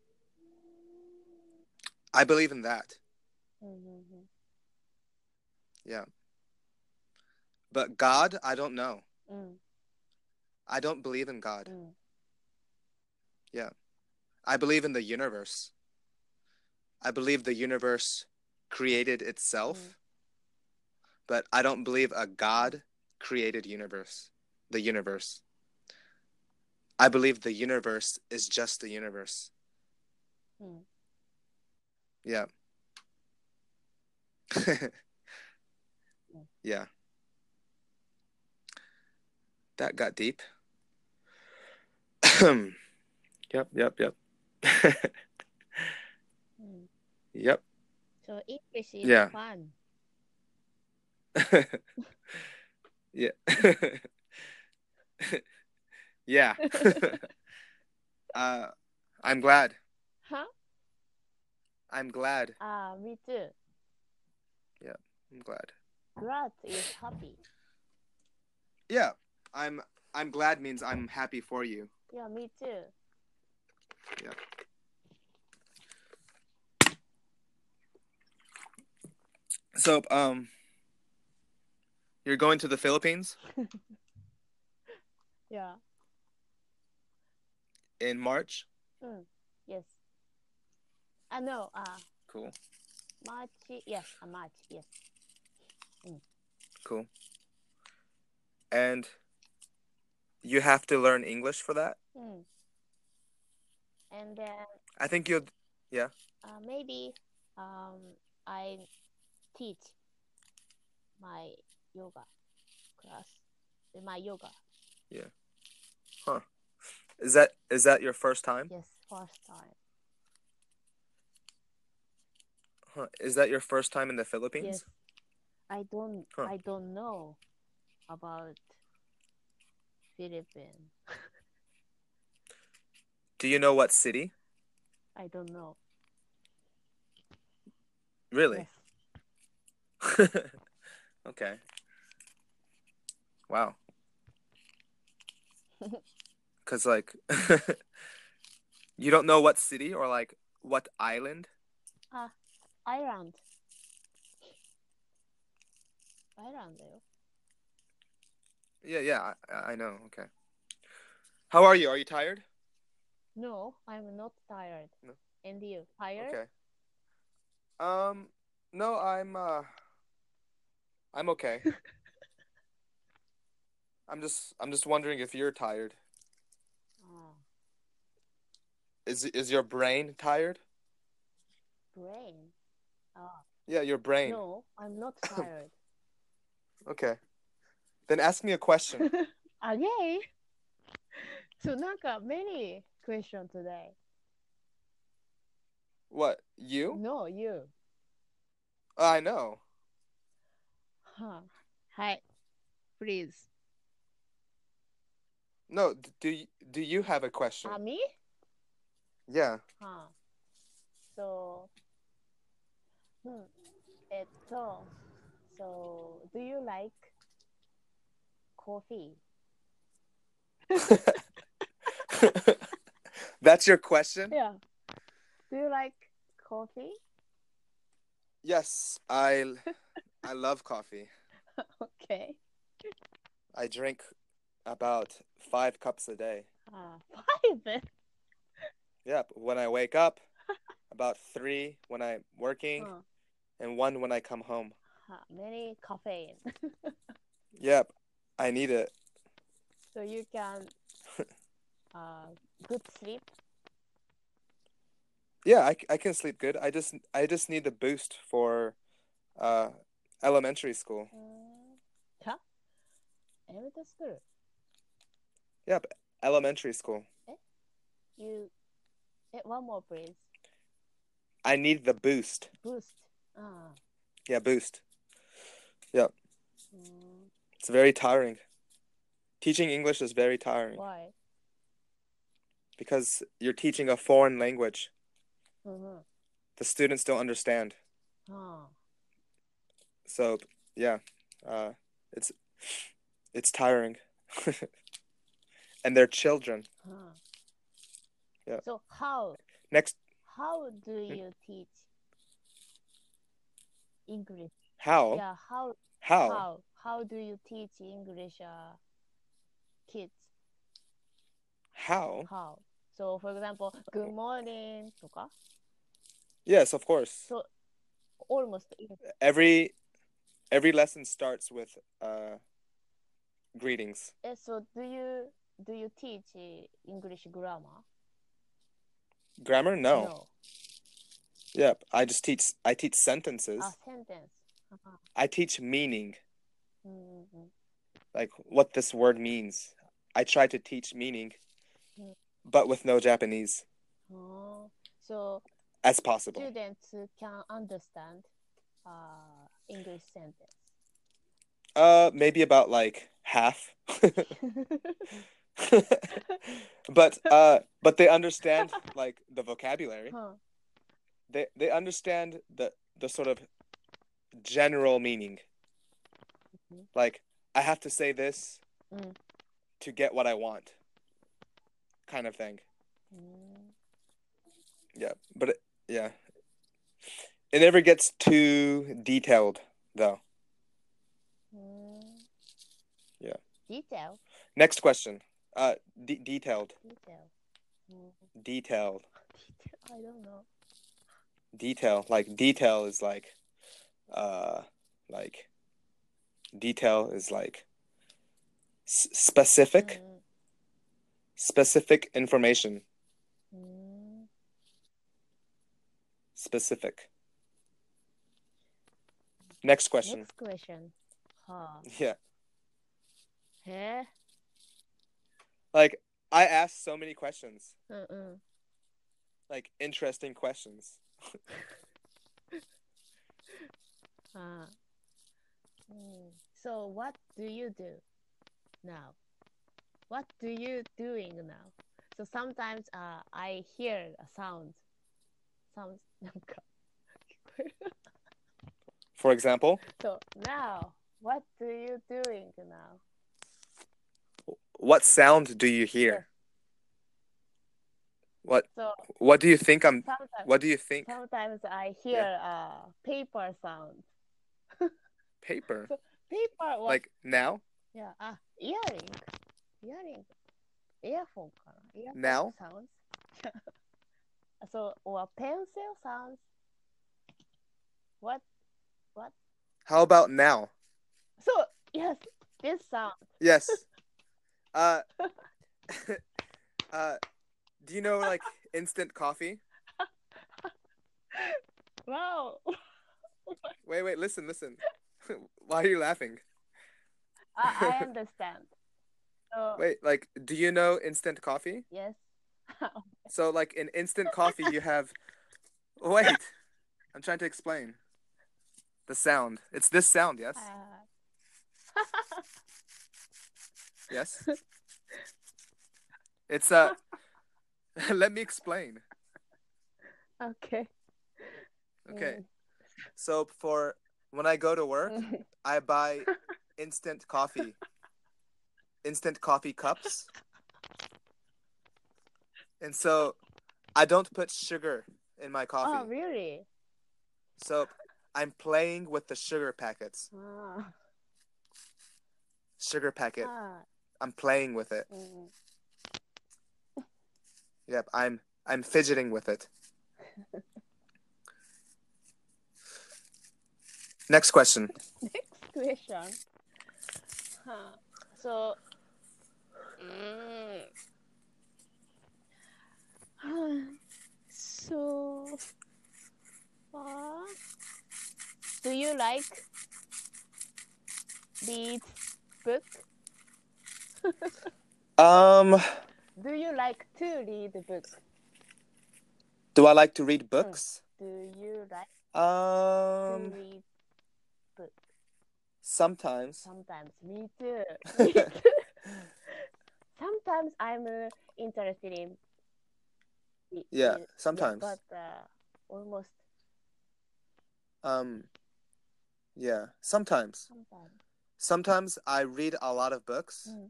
I believe in that. Mm-hmm. Yeah. But God, I don't know. Mm. I don't believe in God. Mm. Yeah. I believe in the universe. I believe the universe created itself, Mm. but I don't believe a God created universe. The universe. I believe the universe is just the universe. Mm. Yeah. Mm. yeah. That got deep. yep, yep, yep. Mm. yep. So English is Yeah. fun. yeah. yeah. uh, I'm glad. Huh? I'm glad. Ah, me too. Yeah, I'm glad. Glad is happy. Yeah, I'm. I'm glad means I'm happy for you. Yeah, me too. Yeah. So, um, you're going to the Philippines Yeah. in March. Mm. Yes. Ah, no. Ah, Cool. March. Yes, a March. Yes. Mm. Cool. And you have to learn English for that. Mm. And then I think you'll, yeah. uh, maybe um, I teach my yoga class, my yoga. Yeah. Huh. Is that is that your first time? Yes, first time. Huh. Is that your first time in the Philippines? Yes, I don't. Huh. I don't know about Philippines. Do you know what city? I don't know. Really? Yes. Okay. Wow. Cause like, you don't know what city or like what island? Ah, Ireland. Ireland だよ。 Yeah, yeah, I, I know. Okay. How are you? Are you tired? No, I'm not tired. No. And you tired? Okay. Um, no, I'm uh, I'm okay. I'm just I'm just wondering if you're tired. Oh, Is is your brain tired? brain. Ah, Yeah, your brain. no, I'm not tired. Okay. Then ask me a question. Again? So, なんか many question today. What? You? No, you. I know. Huh. はい。Please. No, d- do you, do you have a question? あ、me? Yeah. はあ。So, うん。えっと、so, do you like coffee? That's your question? Yeah. Do you like coffee? Yes, I I love coffee. Okay. I drink about five cups a day. Ah, five? Yep. When I wake up, about three when I'm working, Huh. and one when I come home. Huh. Many caffeine. Yep. I need it. So you can uh good sleep. Yeah, I, I can sleep good. I just I just need the boost for uh elementary school. Mm. Huh? Elementary school. Yep, elementary school. You eh, one more please. I need the boost. Boost. Ah. Yeah, boost. Yep. Mm. It's very tiring. Teaching English is very tiring Why? because you're teaching a foreign language. Mm-hmm. The students don't understand. Ah. So, yeah. Uh it's it's tiring. And they're children. Ah. Yeah. So how Next, how do you teach English? how? Yeah, how How? how how do you teach English uh kids? How? How? So for example, good morning とか Yes, of course. So almost Every every lesson starts with uh greetings. eh, so do you do you teach uh, English grammar? Grammar? No. No. Yep. I just teach I teach sentences. A sentence. Uh-huh. I teach meaning. Mm-hmm. Like what this word means. I try to teach meaning, Mm. but with no Japanese Oh. So as possible. students can understand uh, English sentence. Uh, maybe about like half. But uh, but they understand like the vocabulary. Huh. They they understand the the sort of general meaning. Mhm. Like I have to say this Mm. to get what I want, kind of thing. Mm. Yeah, but it, yeah, it never gets too detailed though. Mm. Yeah. Detail. Next question. Uh, de- detailed. Detail. Mm. Detailed. Detail. I don't know. Detail. Like detail is like, uh, like, detail is like s- specific. Mm. Specific information. うーん Specific. Next question. Next question. はあ。 Yeah. へえ。 Like, I asked so many questions. うんうん。 Like, interesting questions. はあ。うん So, what do you do now? What do you doing now? So sometimes uh, I hear a sound. Sounds なんか聞こえる。 For example, So now, what do you doing now? what sound do you hear? Yes. What So What do you think I'm sometimes, What do you think? sometimes I hear Yeah. uh, paper sound. Paper. So paper was Like now? yeah, ah, earring. Earring. Earphone かな Earphone Now? sounds. So or pencil sounds. What what? How about now? So yes, this sound. Yes. Uh uh do you know like instant coffee? Wow. Wait, wait, listen, listen. Why are you laughing? I, I understand. So Wait, like do you know instant coffee? yes. So like in instant coffee you have Wait. I'm trying to explain. The sound. It's this sound, yes? Uh, Yes. It's uh let me explain. okay. Okay. Mm. So for when I go to work, I buy instant coffee. Instant coffee cups. And so I don't put sugar in my coffee. Oh, really? So I'm playing with the sugar packets. Ah. Sugar packet. Ah. I'm playing with it. Mm. Yep, I'm I'm fidgeting with it. Next question. Next question. Huh. So, mm. so, uh, do you like read book? Um, Do you like to read book? do I like to read books? Do you like Um, to read book? sometimes. Sometimes, me too. Me too. Sometimes I'm uh, interested in. Yeah, in- sometimes. Yeah, but uh, almost Um, yeah, sometimes. sometimes. Sometimes I read a lot of books, Mm.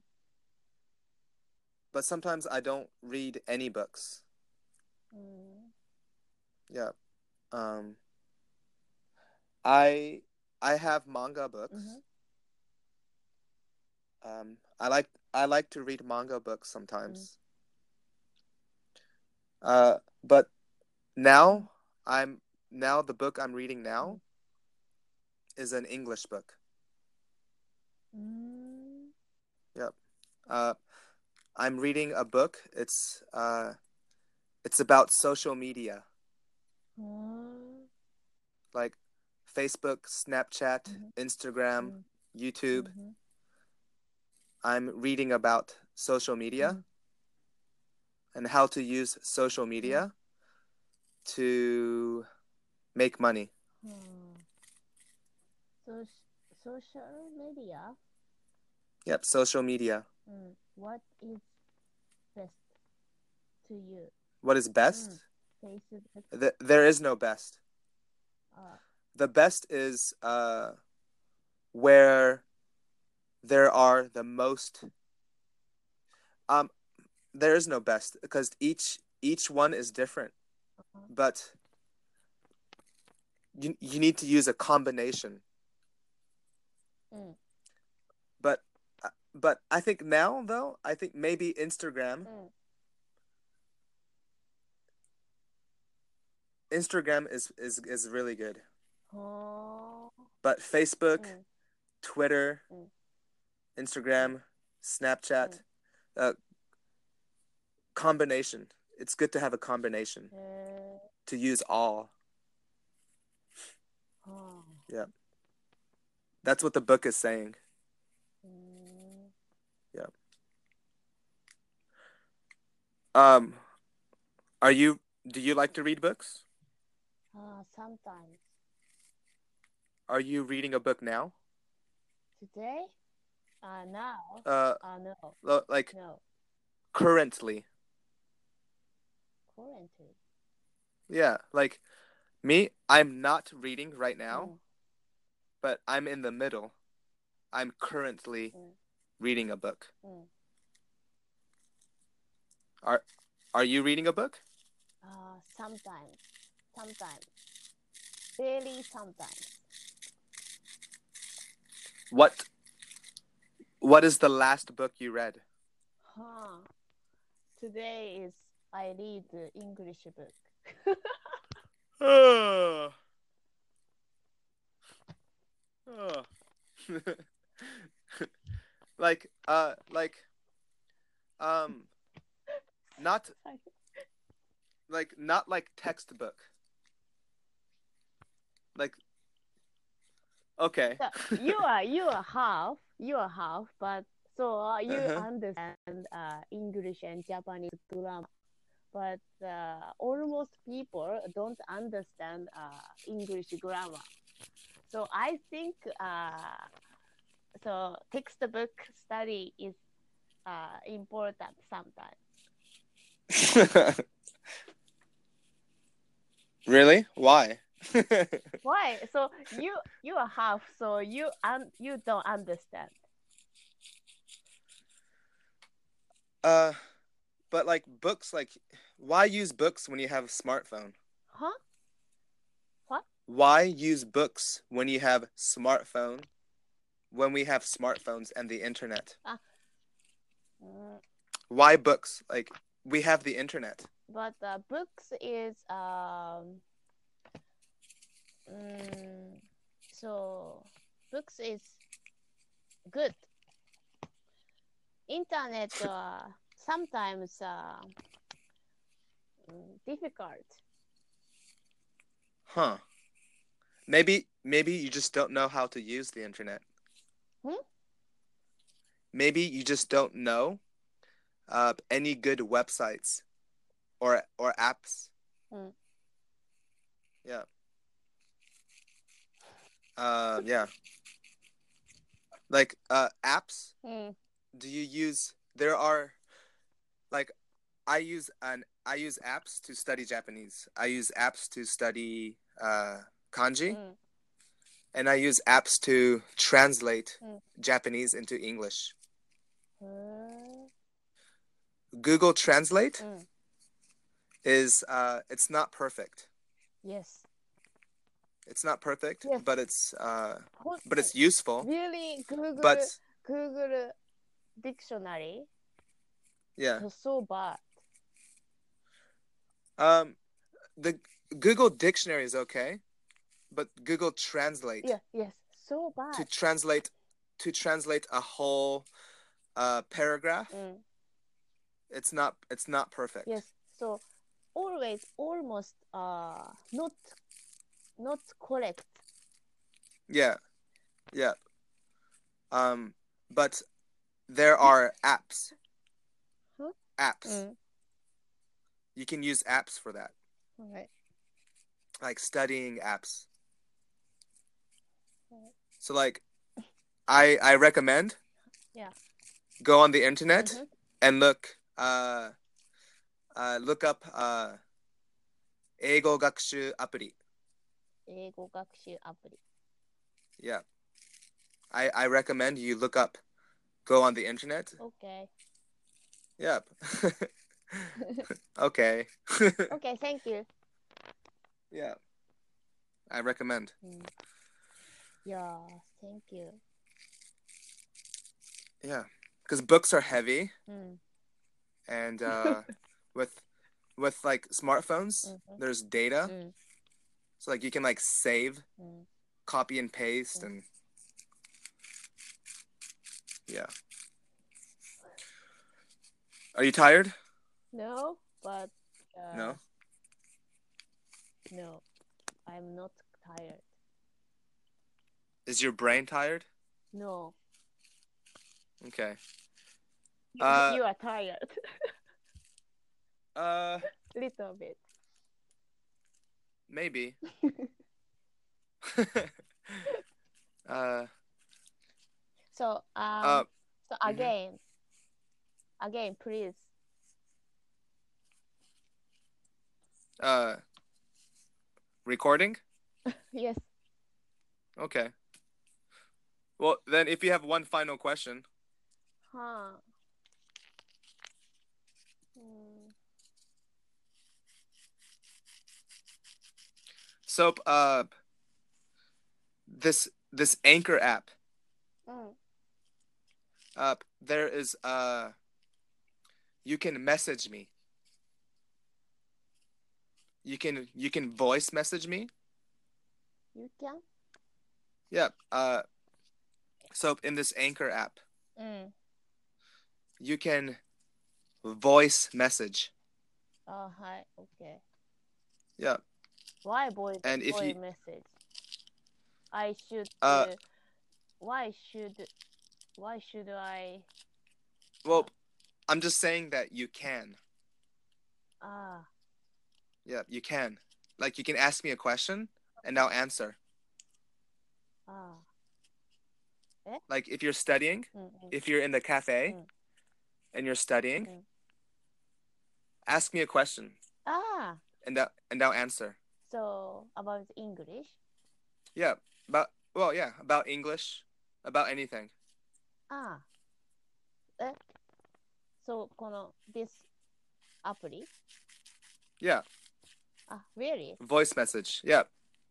but sometimes I don't read any books. Mm. Yeah. Um, I I have manga books. Mhm. Um, I like I like to read manga books sometimes. Uh, but now I'm now the book I'm reading now is an English book. Mm. Yep. Uh, I'm reading a book. It's uh, it's about social media, Mm. like Facebook, Snapchat, Mhm. Instagram, Mm. YouTube. Mhm. I'm reading about social media Mm. and how to use social media to make money. Hmm. So, social media. Yep, social media. Mm. What is best to you? What is best? Mm. Facebook. Th- there is no best. Uh, The best is uh, where there are the most. Um, there is no best because each each one is different. uh-huh. But you you need to use a combination. Mm. But but I think now though I think maybe Instagram. Mm. Instagram is is is really good. Oh. But Facebook, Mm. Twitter, Mm. Instagram, Snapchat, uh, combination. It's good to have a combination へ to use all. ーはあ Yeah. That's what the book is saying. うーん Yeah. Um, are you, do you like to read books? ああ sometimes. Are you reading a book now? Today? Uh, now? Uh, Uh, no. lo- like No. currently. Currently. Yeah, like me, I'm not reading right now, うん but I'm in the middle. I'm currently うん reading a book. うん Are are you reading a book? Uh, sometimes. Sometimes. Very sometimes. What what is the last book you read? Huh. Today is I read the English book. Oh. Oh. like uh like um not like not like textbook. Like okay. So you are you are half you are half, but so uh, you Uh-huh. understand uh, English and Japanese grammar, but uh, almost people don't understand uh, English grammar. So I think uh, so textbook study is uh, important sometimes. Really? Why? Why? So you you are half, so you un- you don't understand. uh but like books like why use books when you have a smartphone? Huh? What? Why use books when you have smartphone when we have smartphones and the internet? Mm, Why books? Like we have the internet. but uh, books is um mm, so books is good. Internet uh, sometimes uh, mm, difficult. Huh. Maybe maybe you just don't know how to use the internet. Hmm? Maybe you just don't know uh any good websites or or apps. Hmm. Yeah. Uh yeah. Like uh apps, Hmm. do you use there are like I use an I use apps to study Japanese. I use apps to study uh kanji Hmm. and I use apps to translate Hmm. Japanese into English. Hmm. Google Translate Hmm. is uh it's not perfect. Yes. It's not perfect, Yes. but it's uh Hon- but it's useful. Really, Google But Google dictionary yeah. is so bad. Um the Google Dictionary is okay, but Google Translate Yeah. Yes. So to bad. translate to translate a whole uh paragraph, Mm. it's not it's not perfect. Yes. So always almost uh not not correct. Yeah. Yeah. Um but there are apps. Huh? Apps. Mm. You can use apps for that. Okay. Like studying apps. Okay. So like I I recommend Yeah. go on the internet Mhm. and look uh uh look up uh 英語学習アプリ. 英語学習アプリ。 Yeah. I I recommend you look up go on the internet. Okay. Yep. Okay. Okay, thank you. Yeah. I recommend. Mm. Yeah, thank you. Yeah. Because books are heavy Mm. and uh with with like smartphones, Mhm. there's data. Mm. So like you can like save, Mm. copy and paste Mm. and yeah. Are you tired? No, but uh, No? no, I'm not tired. Is your brain tired? No, Okay. you, Uh, you are tired. uh, Little bit. maybe. uh, So um, uh, so mhm. again, again, please. uh, recording? Yes. Okay. Well, then if you have one final question. Huh. Hmm. So, uh, this this Anchor app, Mm. uh, there is uh, you can message me. You can you can voice message me. You can. Yeah. Uh, so in this Anchor app, Mm. you can voice message. Oh, hi. Okay. Yeah. Why voice And if voice you message? I should. uh, Uh, why should why should I? well, I'm just saying that you can. Ah. Yeah, you can. Like you can ask me a question and I'll answer. Ah. Like if you're studying, Mm, mm, if you're in the cafe mm, and you're studying, mm. ask me a question Ah. and that and I'll answer. So about English. Yeah, about well, yeah, about English, about anything. ああ。え、そう、この this アプリ Yeah, あ、really? voice message. Yeah,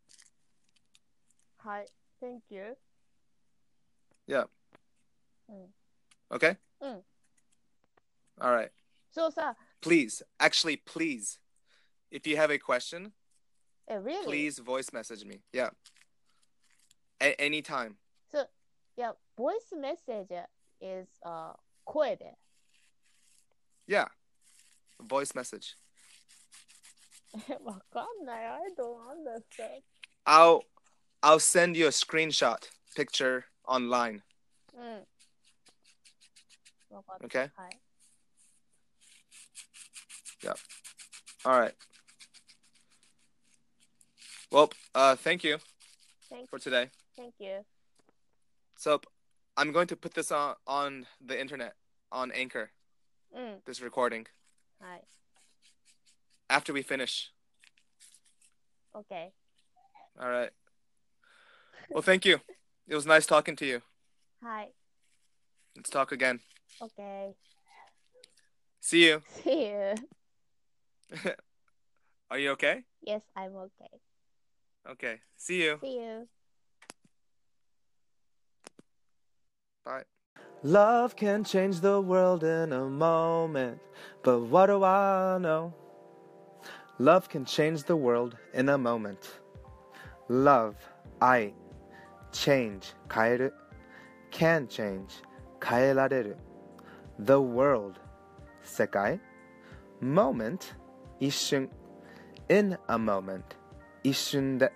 はい。Thank you. yeah. うん。 Okay? うん。 All right. そうさ、 Please, actually, please, if you have a question, え、really? please voice message me. Yeah. A- anytime. そう、いや、ボイスメッセージ is、uh, 声で。 Yeah. Voice message. え、わかんない。I don't understand. I'll I'll send you a screenshot picture online. うん。わかった。 Okay? はい。 Yeah. All right. Well, uh, thank you Thank, for today. thank you. So I'm going to put this on on the internet on Anchor. うん。 This recording はい。 after we finish. OK。 All right. Well, thank you. It was nice talking to you. はい。 Let's talk again. OK。 See you. See you. Are you okay? Yes, I'm OK. Okay. See you. See you. Bye. Love can change the world in a moment, but what do I know? Love can change the world in a moment. Love, 愛, change, 変える, can change, 変えられる. The world, 世界, moment, 一瞬, in a moment, 一瞬で.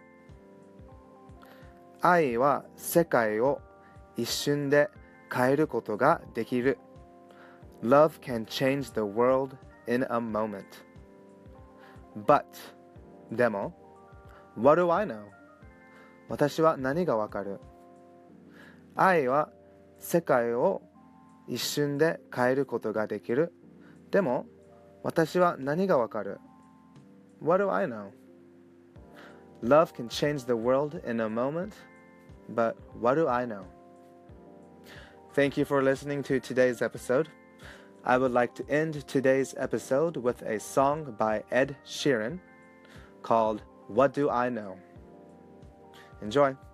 愛は世界を一瞬で変えることができる. Love can change the world in a moment. But, でも, what do I know? 私は何がわかる? 愛は世界を一瞬で変えることができる. でも、私は何がわかる? What do I know? Love can change the world in a moment, but what do I know? Thank you for listening to today's episode. I would like to end today's episode with a song by Ed Sheeran called What Do I Know? Enjoy.